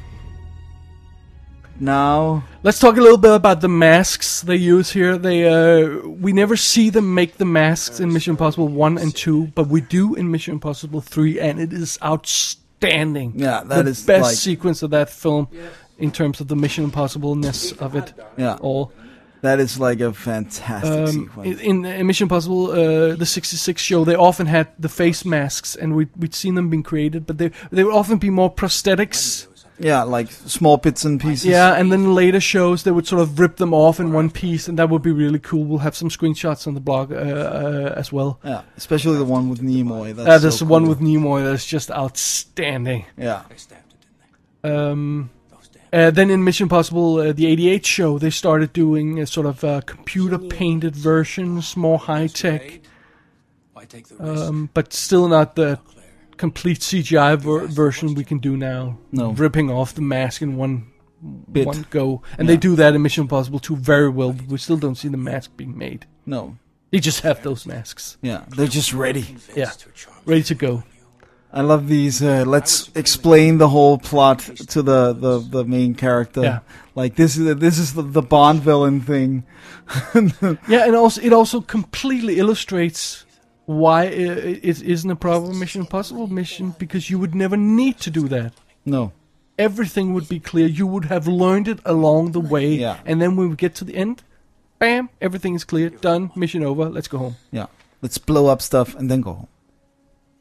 Now, Let's talk a little bit about the masks they use here. They uh, we never see them make the masks in Mission Impossible one and two, but we do in Mission Impossible three, and it is outstanding. Yeah, that the is best like- sequence of that film in terms of the Mission Impossible-ness of it yeah, all. that is like a fantastic Um, sequence. in, in Mission Impossible, uh, the sixty-six show, they often had the face masks, and we, we'd seen them being created, but they they would often be more prosthetics. Yeah, like small bits and pieces. Yeah, and then later shows, they would sort of rip them off in one piece, and that would be really cool. We'll have some screenshots on the blog uh, uh, as well. Yeah, especially the one with Nimoy. That's Uh, there's so the one cool. with Nimoy that's just outstanding. Yeah, They stabbed it, didn't they? Um, Those damn. uh, then in Mission Impossible, uh, the eighty-eight show, they started doing a sort of uh, computer-painted versions, more high-tech, Why take the risk? um, but still not the complete C G I ver- version we can do now. No. Ripping off the mask in one Bit. one go. And Yeah. they do that in Mission Impossible two very well, but we still don't see the mask being made. no. They just have those masks. Yeah, they're just ready. Yeah, ready to go. I love these. Uh, let's explain the whole plot to the, the, the main character. Yeah. Like this is this is the, the Bond villain thing. Yeah, and also it also completely illustrates why it, it isn't a proper Mission Impossible mission, because you would never need to do that. No. Everything would be clear. You would have learned it along the way, Yeah. and then when we get to the end, bam, everything is clear, done, mission over, let's go home. Yeah. Let's blow up stuff and then go home.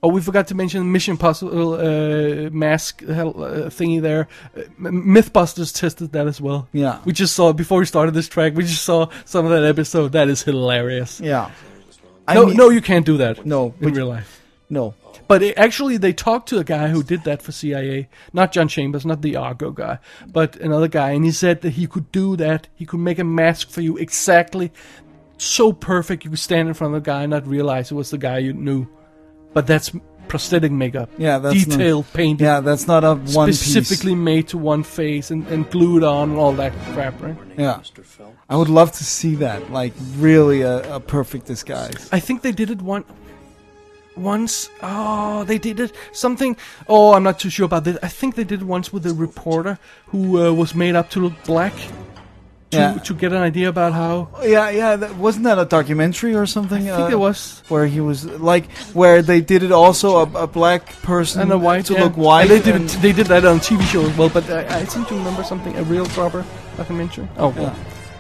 Oh, we forgot to mention Mission Impossible uh, mask hell, uh, thingy there. Uh, Mythbusters tested that as well. Yeah. We just saw, before we started this track, we just saw some of that episode. That is hilarious. Yeah. I no, mean- no, you can't do that. No, in but- real life. No. But it, actually, they talked to a guy who did that for C I A. Not John Chambers, not the Argo guy, but another guy. And he said that he could do that. He could make a mask for you exactly so perfect you could stand in front of the guy and not realize it was the guy you knew. But that's prosthetic makeup. Yeah, that's detailed not, painting. Yeah, that's not a one piece. Specifically made to one face and, and glued on and all that crap, right? Yeah. I would love to see that. Like, really a, a perfect disguise. I think they did it one once. Oh, they did it something. Oh, I'm not too sure about that. I think they did it once with a reporter who uh, was made up to look black. To, Yeah. to get an idea about how. Yeah, yeah. That, wasn't that a documentary or something? I think uh, it was. Where he was, like, where they did it also, a, a black person And a white to yeah. look white. And they did and- it, they did that on T V show as well. But I, I seem to remember something, a real proper documentary. Oh, well.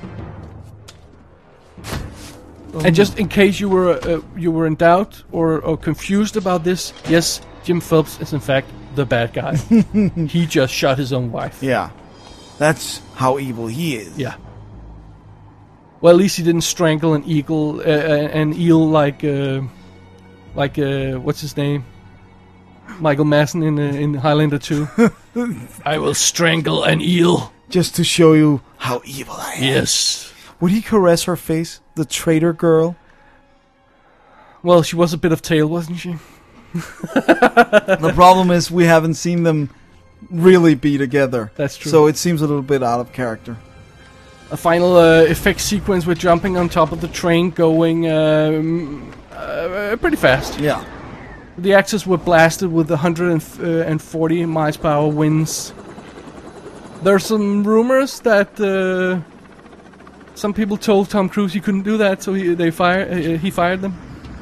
Yeah. And just in case you were uh, you were in doubt or, or confused about this, yes, Jim Phelps is in fact the bad guy. He just shot his own wife. Yeah. That's how evil he is. Yeah. Well, at least he didn't strangle an eagle, uh, an eel like, uh, like uh, what's his name, Michael Madsen in uh, in Highlander two. I will strangle an eel. Just to show you how evil I am. Yes. Would he caress her face, the traitor girl? Well, she was a bit of tail, wasn't she? The problem is we haven't seen them really be together. That's true. So it seems a little bit out of character. A final uh, effect sequence with jumping on top of the train, going um, uh, pretty fast. Yeah. The actors were blasted with one hundred forty miles per hour winds. There's some rumors that uh, some people told Tom Cruise he couldn't do that, so he they fire uh, he fired them.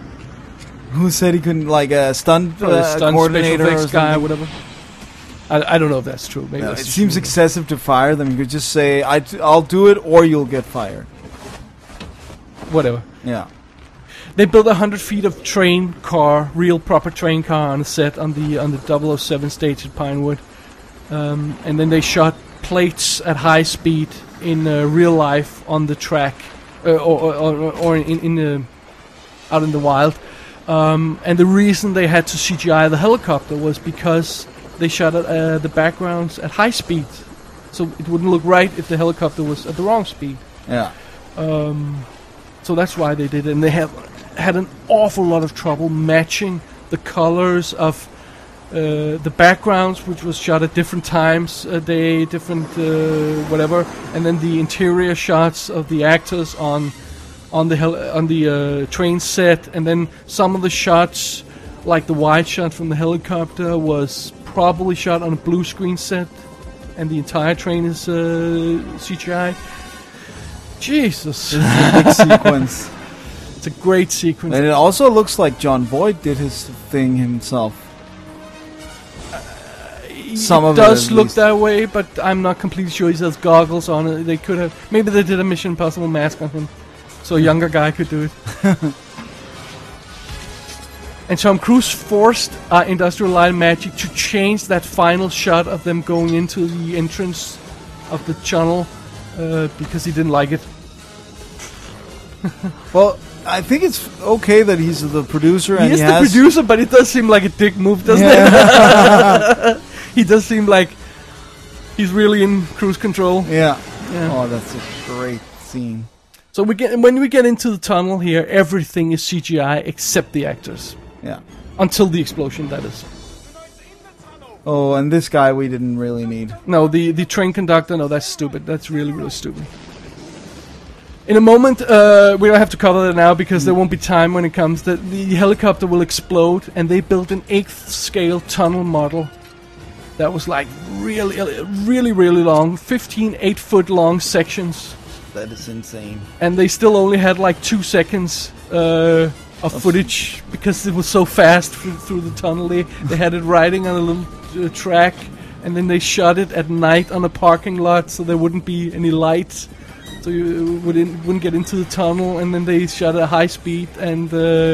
Who said he couldn't, like a stunt, Probably uh, a stunt coordinator special or effects guy, something? whatever. I, I don't know if that's true. Maybe No, that's it just seems rumor. excessive to fire them. You could just say, I t- I'll do it or you'll get fired. Whatever. Yeah. They built a hundred feet of train car, real proper train car on a set on the on the double oh seven stage at Pinewood, um, and then they shot plates at high speed in uh, real life on the track, uh, or, or or in in the out in the wild. Um, and the reason they had to C G I the helicopter was because they shot at, uh, the backgrounds at high speed, so it wouldn't look right if the helicopter was at the wrong speed. Yeah. Um, so that's why they did it, and they have had an awful lot of trouble matching the colors of uh, the backgrounds, which was shot at different times a day, different uh, whatever, and then the interior shots of the actors on on the hel- on the uh, train set, and then some of the shots, like the wide shot from the helicopter, was probably shot on a blue screen set, and the entire train is uh, C G I. Jesus. Big sequence. It's a great sequence. And it also looks like John Voight did his thing himself. Some it of it, does at look least. that way, but I'm not completely sure he has goggles on it. They could have, maybe they did a Mission Impossible mask on him, so a younger guy could do it. And Tom Cruise forced uh, Industrial Light and Magic to change that final shot of them going into the entrance of the tunnel uh, because he didn't like it. Well, I think it's okay that he's the producer and He is he the has producer, but it does seem like a dick move, doesn't Yeah. it? He does seem like he's really in cruise control. Yeah. Yeah. Oh, that's a great scene. So we get when we get into the tunnel here, everything is C G I except the actors. Yeah. Until the explosion, that is. Oh, and this guy we didn't really need. No, the, the train conductor, no, that's stupid. That's really, really stupid. In a moment, uh, we don't have to cover that now because there won't be time when it comes. The, the helicopter will explode, and they built an eighth scale tunnel model that was like really, really, really long. fifteen eight foot long sections. That is insane. And they still only had like two seconds uh, of footage because it was so fast through, through the tunnel. They, they had it riding on a little uh, track, and then they shot it at night on a parking lot so there wouldn't be any lights, so you wouldn't, wouldn't get into the tunnel. And then they shot at high speed, and uh,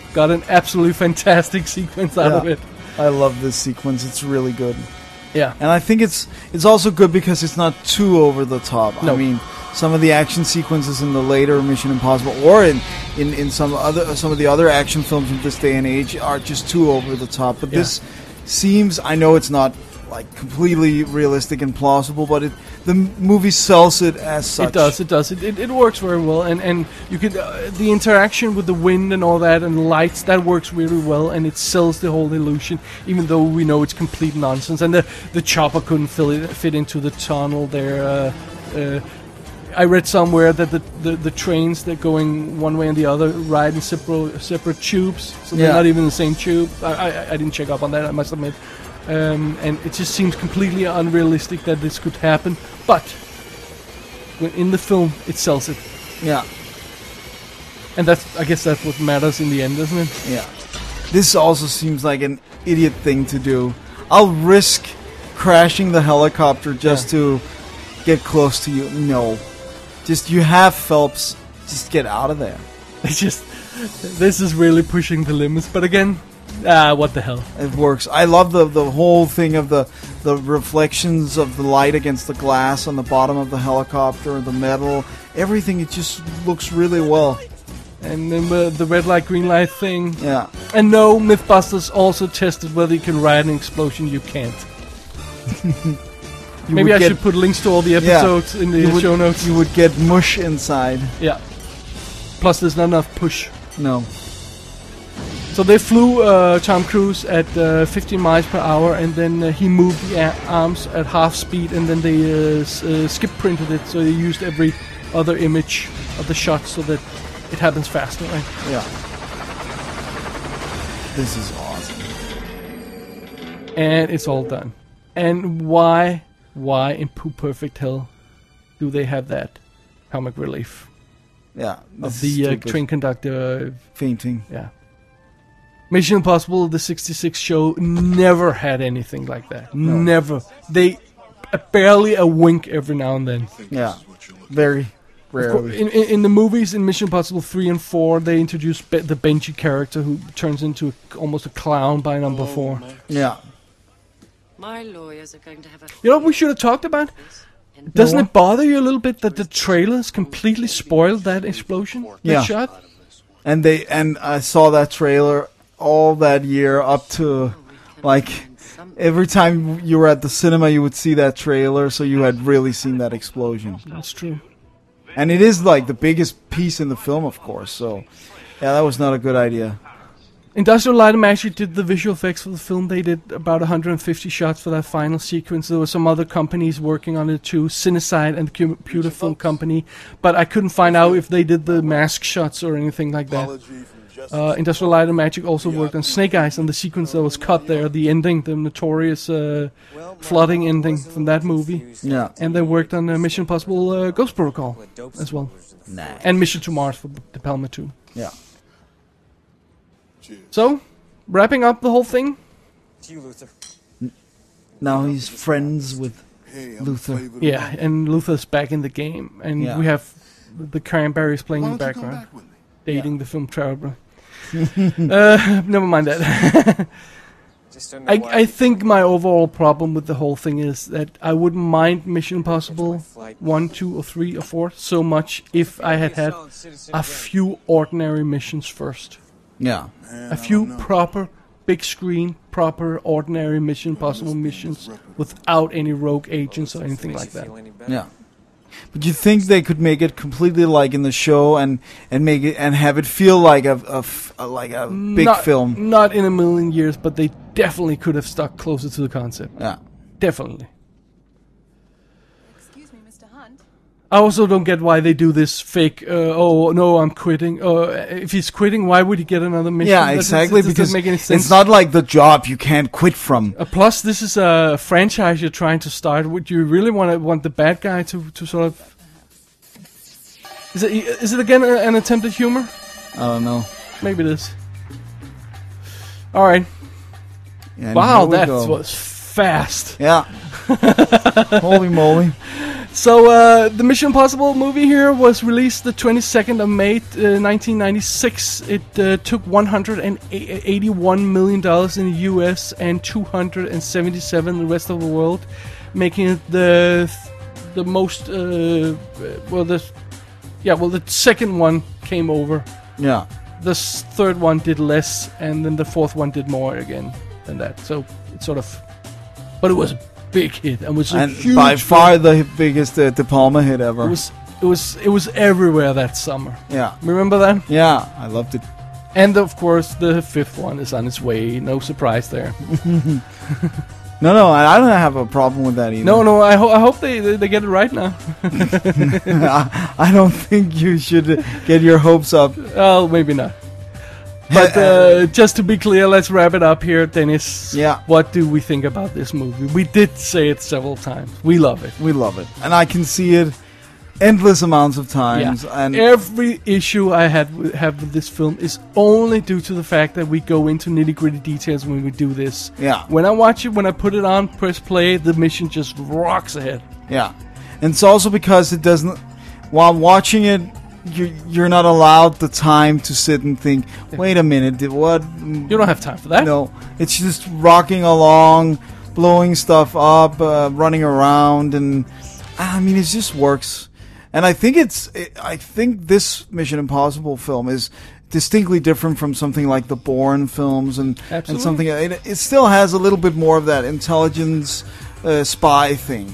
got an absolutely fantastic sequence out Yeah. of it. I love this sequence. It's really good. Yeah. And I think it's it's also good because it's not too over the top. No. I mean, some of the action sequences in the later Mission Impossible, or in, in, in some other some of the other action films from this day and age, are just too over the top. But Yeah. this seems, I know it's not like completely realistic and plausible, but it the m- movie sells it as such. It does, it does. It, it, it works very well, and and you could uh, the interaction with the wind and all that and the lights, that works really well, and it sells the whole illusion, even though we know it's complete nonsense. And the the chopper couldn't fill it, fit into the tunnel there. Uh, uh, I read somewhere that the, the, the trains that going one way and the other ride in separate separate tubes, so they're Yeah. not even the same tube. I, I I didn't check up on that, I must admit. Um, and it just seems completely unrealistic that this could happen, but when in the film it sells it, Yeah, and that's I guess that's what matters in the end, isn't it? yeah. This also seems like an idiot thing to do. I'll risk crashing the helicopter just to get close to you. No. Just, you have Phelps. Just get out of there. It's just this is really pushing the limits, but again, ah, what the hell? It works. I love the the whole thing of the the reflections of the light against the glass on the bottom of the helicopter, the metal, everything. It just looks really well. And then uh, the red light, green light thing. Yeah. And no, Mythbusters also tested whether you can ride an explosion. You can't. You Maybe would I get- should put links to all the episodes in the you would, show notes. You would get mush inside. Yeah. Plus, there's not enough push. No. So they flew uh, Tom Cruise at uh, fifteen miles per hour, and then uh, he moved the a- arms at half speed, and then they uh, s- uh, skip printed it, so they used every other image of the shot so that it happens faster, right? Yeah. This is awesome. And it's all done. And why, why in Pooh Perfect Hell do they have that comic relief Yeah. of this the is uh, stupid. train conductor? fainting. Yeah. Mission Impossible, the sixty-six show, never had anything like that. Never. They uh, barely a wink every now and then. Yeah. Very Of cour- rarely. In, in, in the movies, in Mission Impossible three and four, they introduce Be- the Benji character who turns into a, almost a clown by number four. Yeah. My lawyers are going to have a. You know what we should have talked about? Doesn't it bother you a little bit that the trailers completely spoiled that explosion? That Yeah. shot? And they and I saw that trailer all that year up to like every time you were at the cinema you would see that trailer, so you had really seen that explosion. That's true. And it is like the biggest piece in the film, of course, so yeah, that was not a good idea. Industrial Light and Magic did the visual effects for the film. They did about one hundred fifty shots for that final sequence. There were some other companies working on it too, Cineside and the Computer Film Company, but I couldn't find out if they did the mask shots or anything like that. Uh, Industrial Light and Magic also worked on Snake Eyes and the sequence that was cut there, the ending, the notorious uh, flooding ending from that movie. Yeah. And they worked on uh, Mission Impossible uh, Ghost Protocol as well. Nice. And Mission to Mars for De Palma too. Yeah. So, wrapping up the whole thing, To you, Luther. Now he's friends with Luther. yeah, and Luther's back in the game, and Yeah. we have the Cranberries playing Why in the don't you come background, back with me? dating the film Traveler. uh, never mind that. Just don't know I, why I think my overall problem with the whole thing is that I wouldn't mind Mission Impossible one, two, or three, or four so much if I had had a few ordinary missions first. Yeah. Man, A I few don't know. proper, big screen, proper, ordinary Mission Impossible missions without any rogue agents or anything like that. Yeah. But you think they could make it completely like in the show and, and make it and have it feel like a, a f- a- like a big not, film? Not in a million years, but they definitely could have stuck closer to the concept. Yeah. Definitely. Excuse me, Mister Hunt. I also don't get why they do this fake, uh, oh, no, I'm quitting. Uh, if he's quitting, why would he get another mission? Yeah, That just- exactly. it just Because doesn't make any sense. it's not like the job you can't quit from. Uh, plus, this is a franchise you're trying to start. Would you really want to want the bad guy to, to sort of... Is it, is it again a- an attempt at humor? I don't know. Maybe it is. Alright. And Wow, here we that go. was fast. Yeah. Holy moly. So, uh, the Mission Impossible movie here was released the twenty-second of May, uh, nineteen ninety-six. It uh, took one hundred eighty-one million dollars in the U S and two hundred seventy-seven in the rest of the world, making it the the most, uh, well, the, yeah, well, the second one came over. Yeah. The s- third one did less, and then the fourth one did more again than that. So, it's sort of, but it was a big hit, and was a And huge by hit. far the biggest uh, De Palma hit ever. It was it was it was everywhere that summer. yeah. Remember that? Yeah, I loved it. And of course, the fifth one is on its way. No surprise there. No, no, I I don't have a problem with that either. No, no. I, ho- I hope they, they they get it right now. I, I don't think you should get your hopes up. Oh, maybe not. But uh, just to be clear, let's wrap it up here, Dennis. Yeah. What do we think about this movie? We did say it several times. We love it. We love it. And I can see it endless amounts of times. Yeah. And Every issue I had w- have with this film is only due to the fact that we go into nitty gritty details when we do this. Yeah. When I watch it, when I put it on, press play, the mission just rocks ahead. Yeah. And it's also because it doesn't, while watching it, you're, you're not allowed the time to sit and think, wait a minute, did what? You don't have time for that. No. It's just rocking along, blowing stuff up, uh, running around, and I mean, it just works. And I think it's, it, I think this Mission Impossible film is distinctly different from something like the Bourne films and, and Absolutely. something, it, it still has a little bit more of that intelligence uh, spy thing.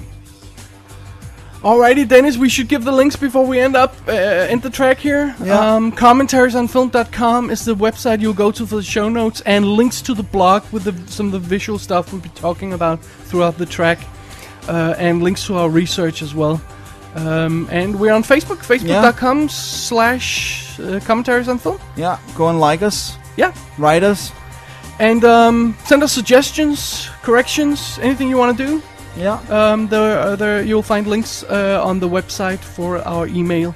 Alrighty, Dennis, we should give the links before we end up, uh, end the track here. Yeah. Um, commentaries on film dot com is the website you'll go to for the show notes, and links to the blog with the, some of the visual stuff we'll be talking about throughout the track, uh, and links to our research as well. Um, and we're on Facebook, facebook.com slash uh, commentaries on film. Yeah, go and like us, Yeah. write us. And um, send us suggestions, corrections, anything you want to do. Yeah. Um, there, uh, there, you'll find links uh, on the website for our email.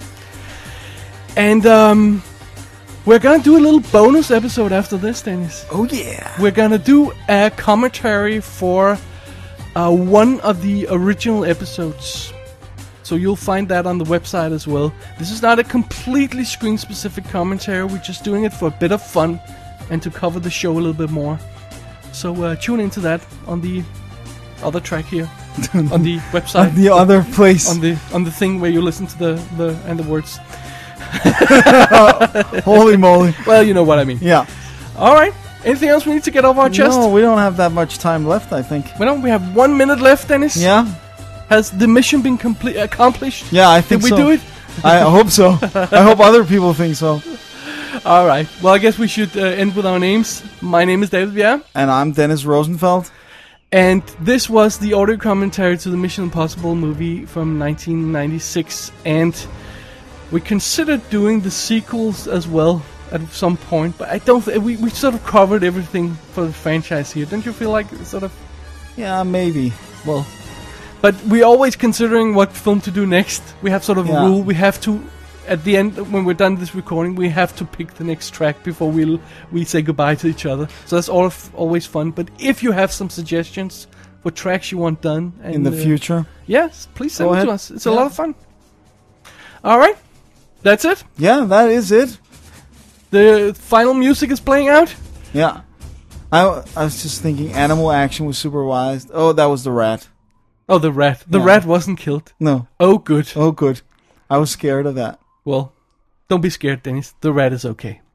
And um, we're gonna do a little bonus episode after this, Dennis. Oh, yeah. We're gonna do a commentary for uh, one of the original episodes. So you'll find that on the website as well. This is not a completely screen-specific commentary. We're just doing it for a bit of fun and to cover the show a little bit more. So uh, tune into that on the other track here, on the website, The other place. on the on the thing where you listen to the, the and the words. Holy moly. Well, you know what I mean. Yeah. All right. Anything else we need to get off our chest? No, we don't have that much time left, I think. Well, we have one minute left, Dennis. Yeah? Has the mission been complete accomplished? Yeah, I think Did we so. do it? I hope so. I hope other people think so. All right. Well, I guess we should uh, end with our names. My name is David Bjerre. And I'm Dennis Rosenfeld. And this was the audio commentary to the Mission Impossible movie from nineteen ninety-six. And we considered doing the sequels as well at some point. But I don't th- we, we sort of covered everything for the franchise here. Don't you feel like it's sort of... Yeah, maybe. Well... But we're always considering what film to do next. We have sort of Yeah. a rule. We have to, at the end, when we're done this recording, we have to pick the next track before we we'll, we say goodbye to each other. So that's all f- always fun. But if you have some suggestions for tracks you want done and, In the uh, future. yes, please send Go them to ahead. us. It's a Yeah. lot of fun. All right, that's it. Yeah, that is it. The final music is playing out. Yeah. I, I was just thinking animal action was supervised. Oh, that was the rat. Oh, the rat. The Yeah. rat wasn't killed. No. Oh, good. Oh, good. I was scared of that. Well, don't be scared, Dennis. The rat is okay.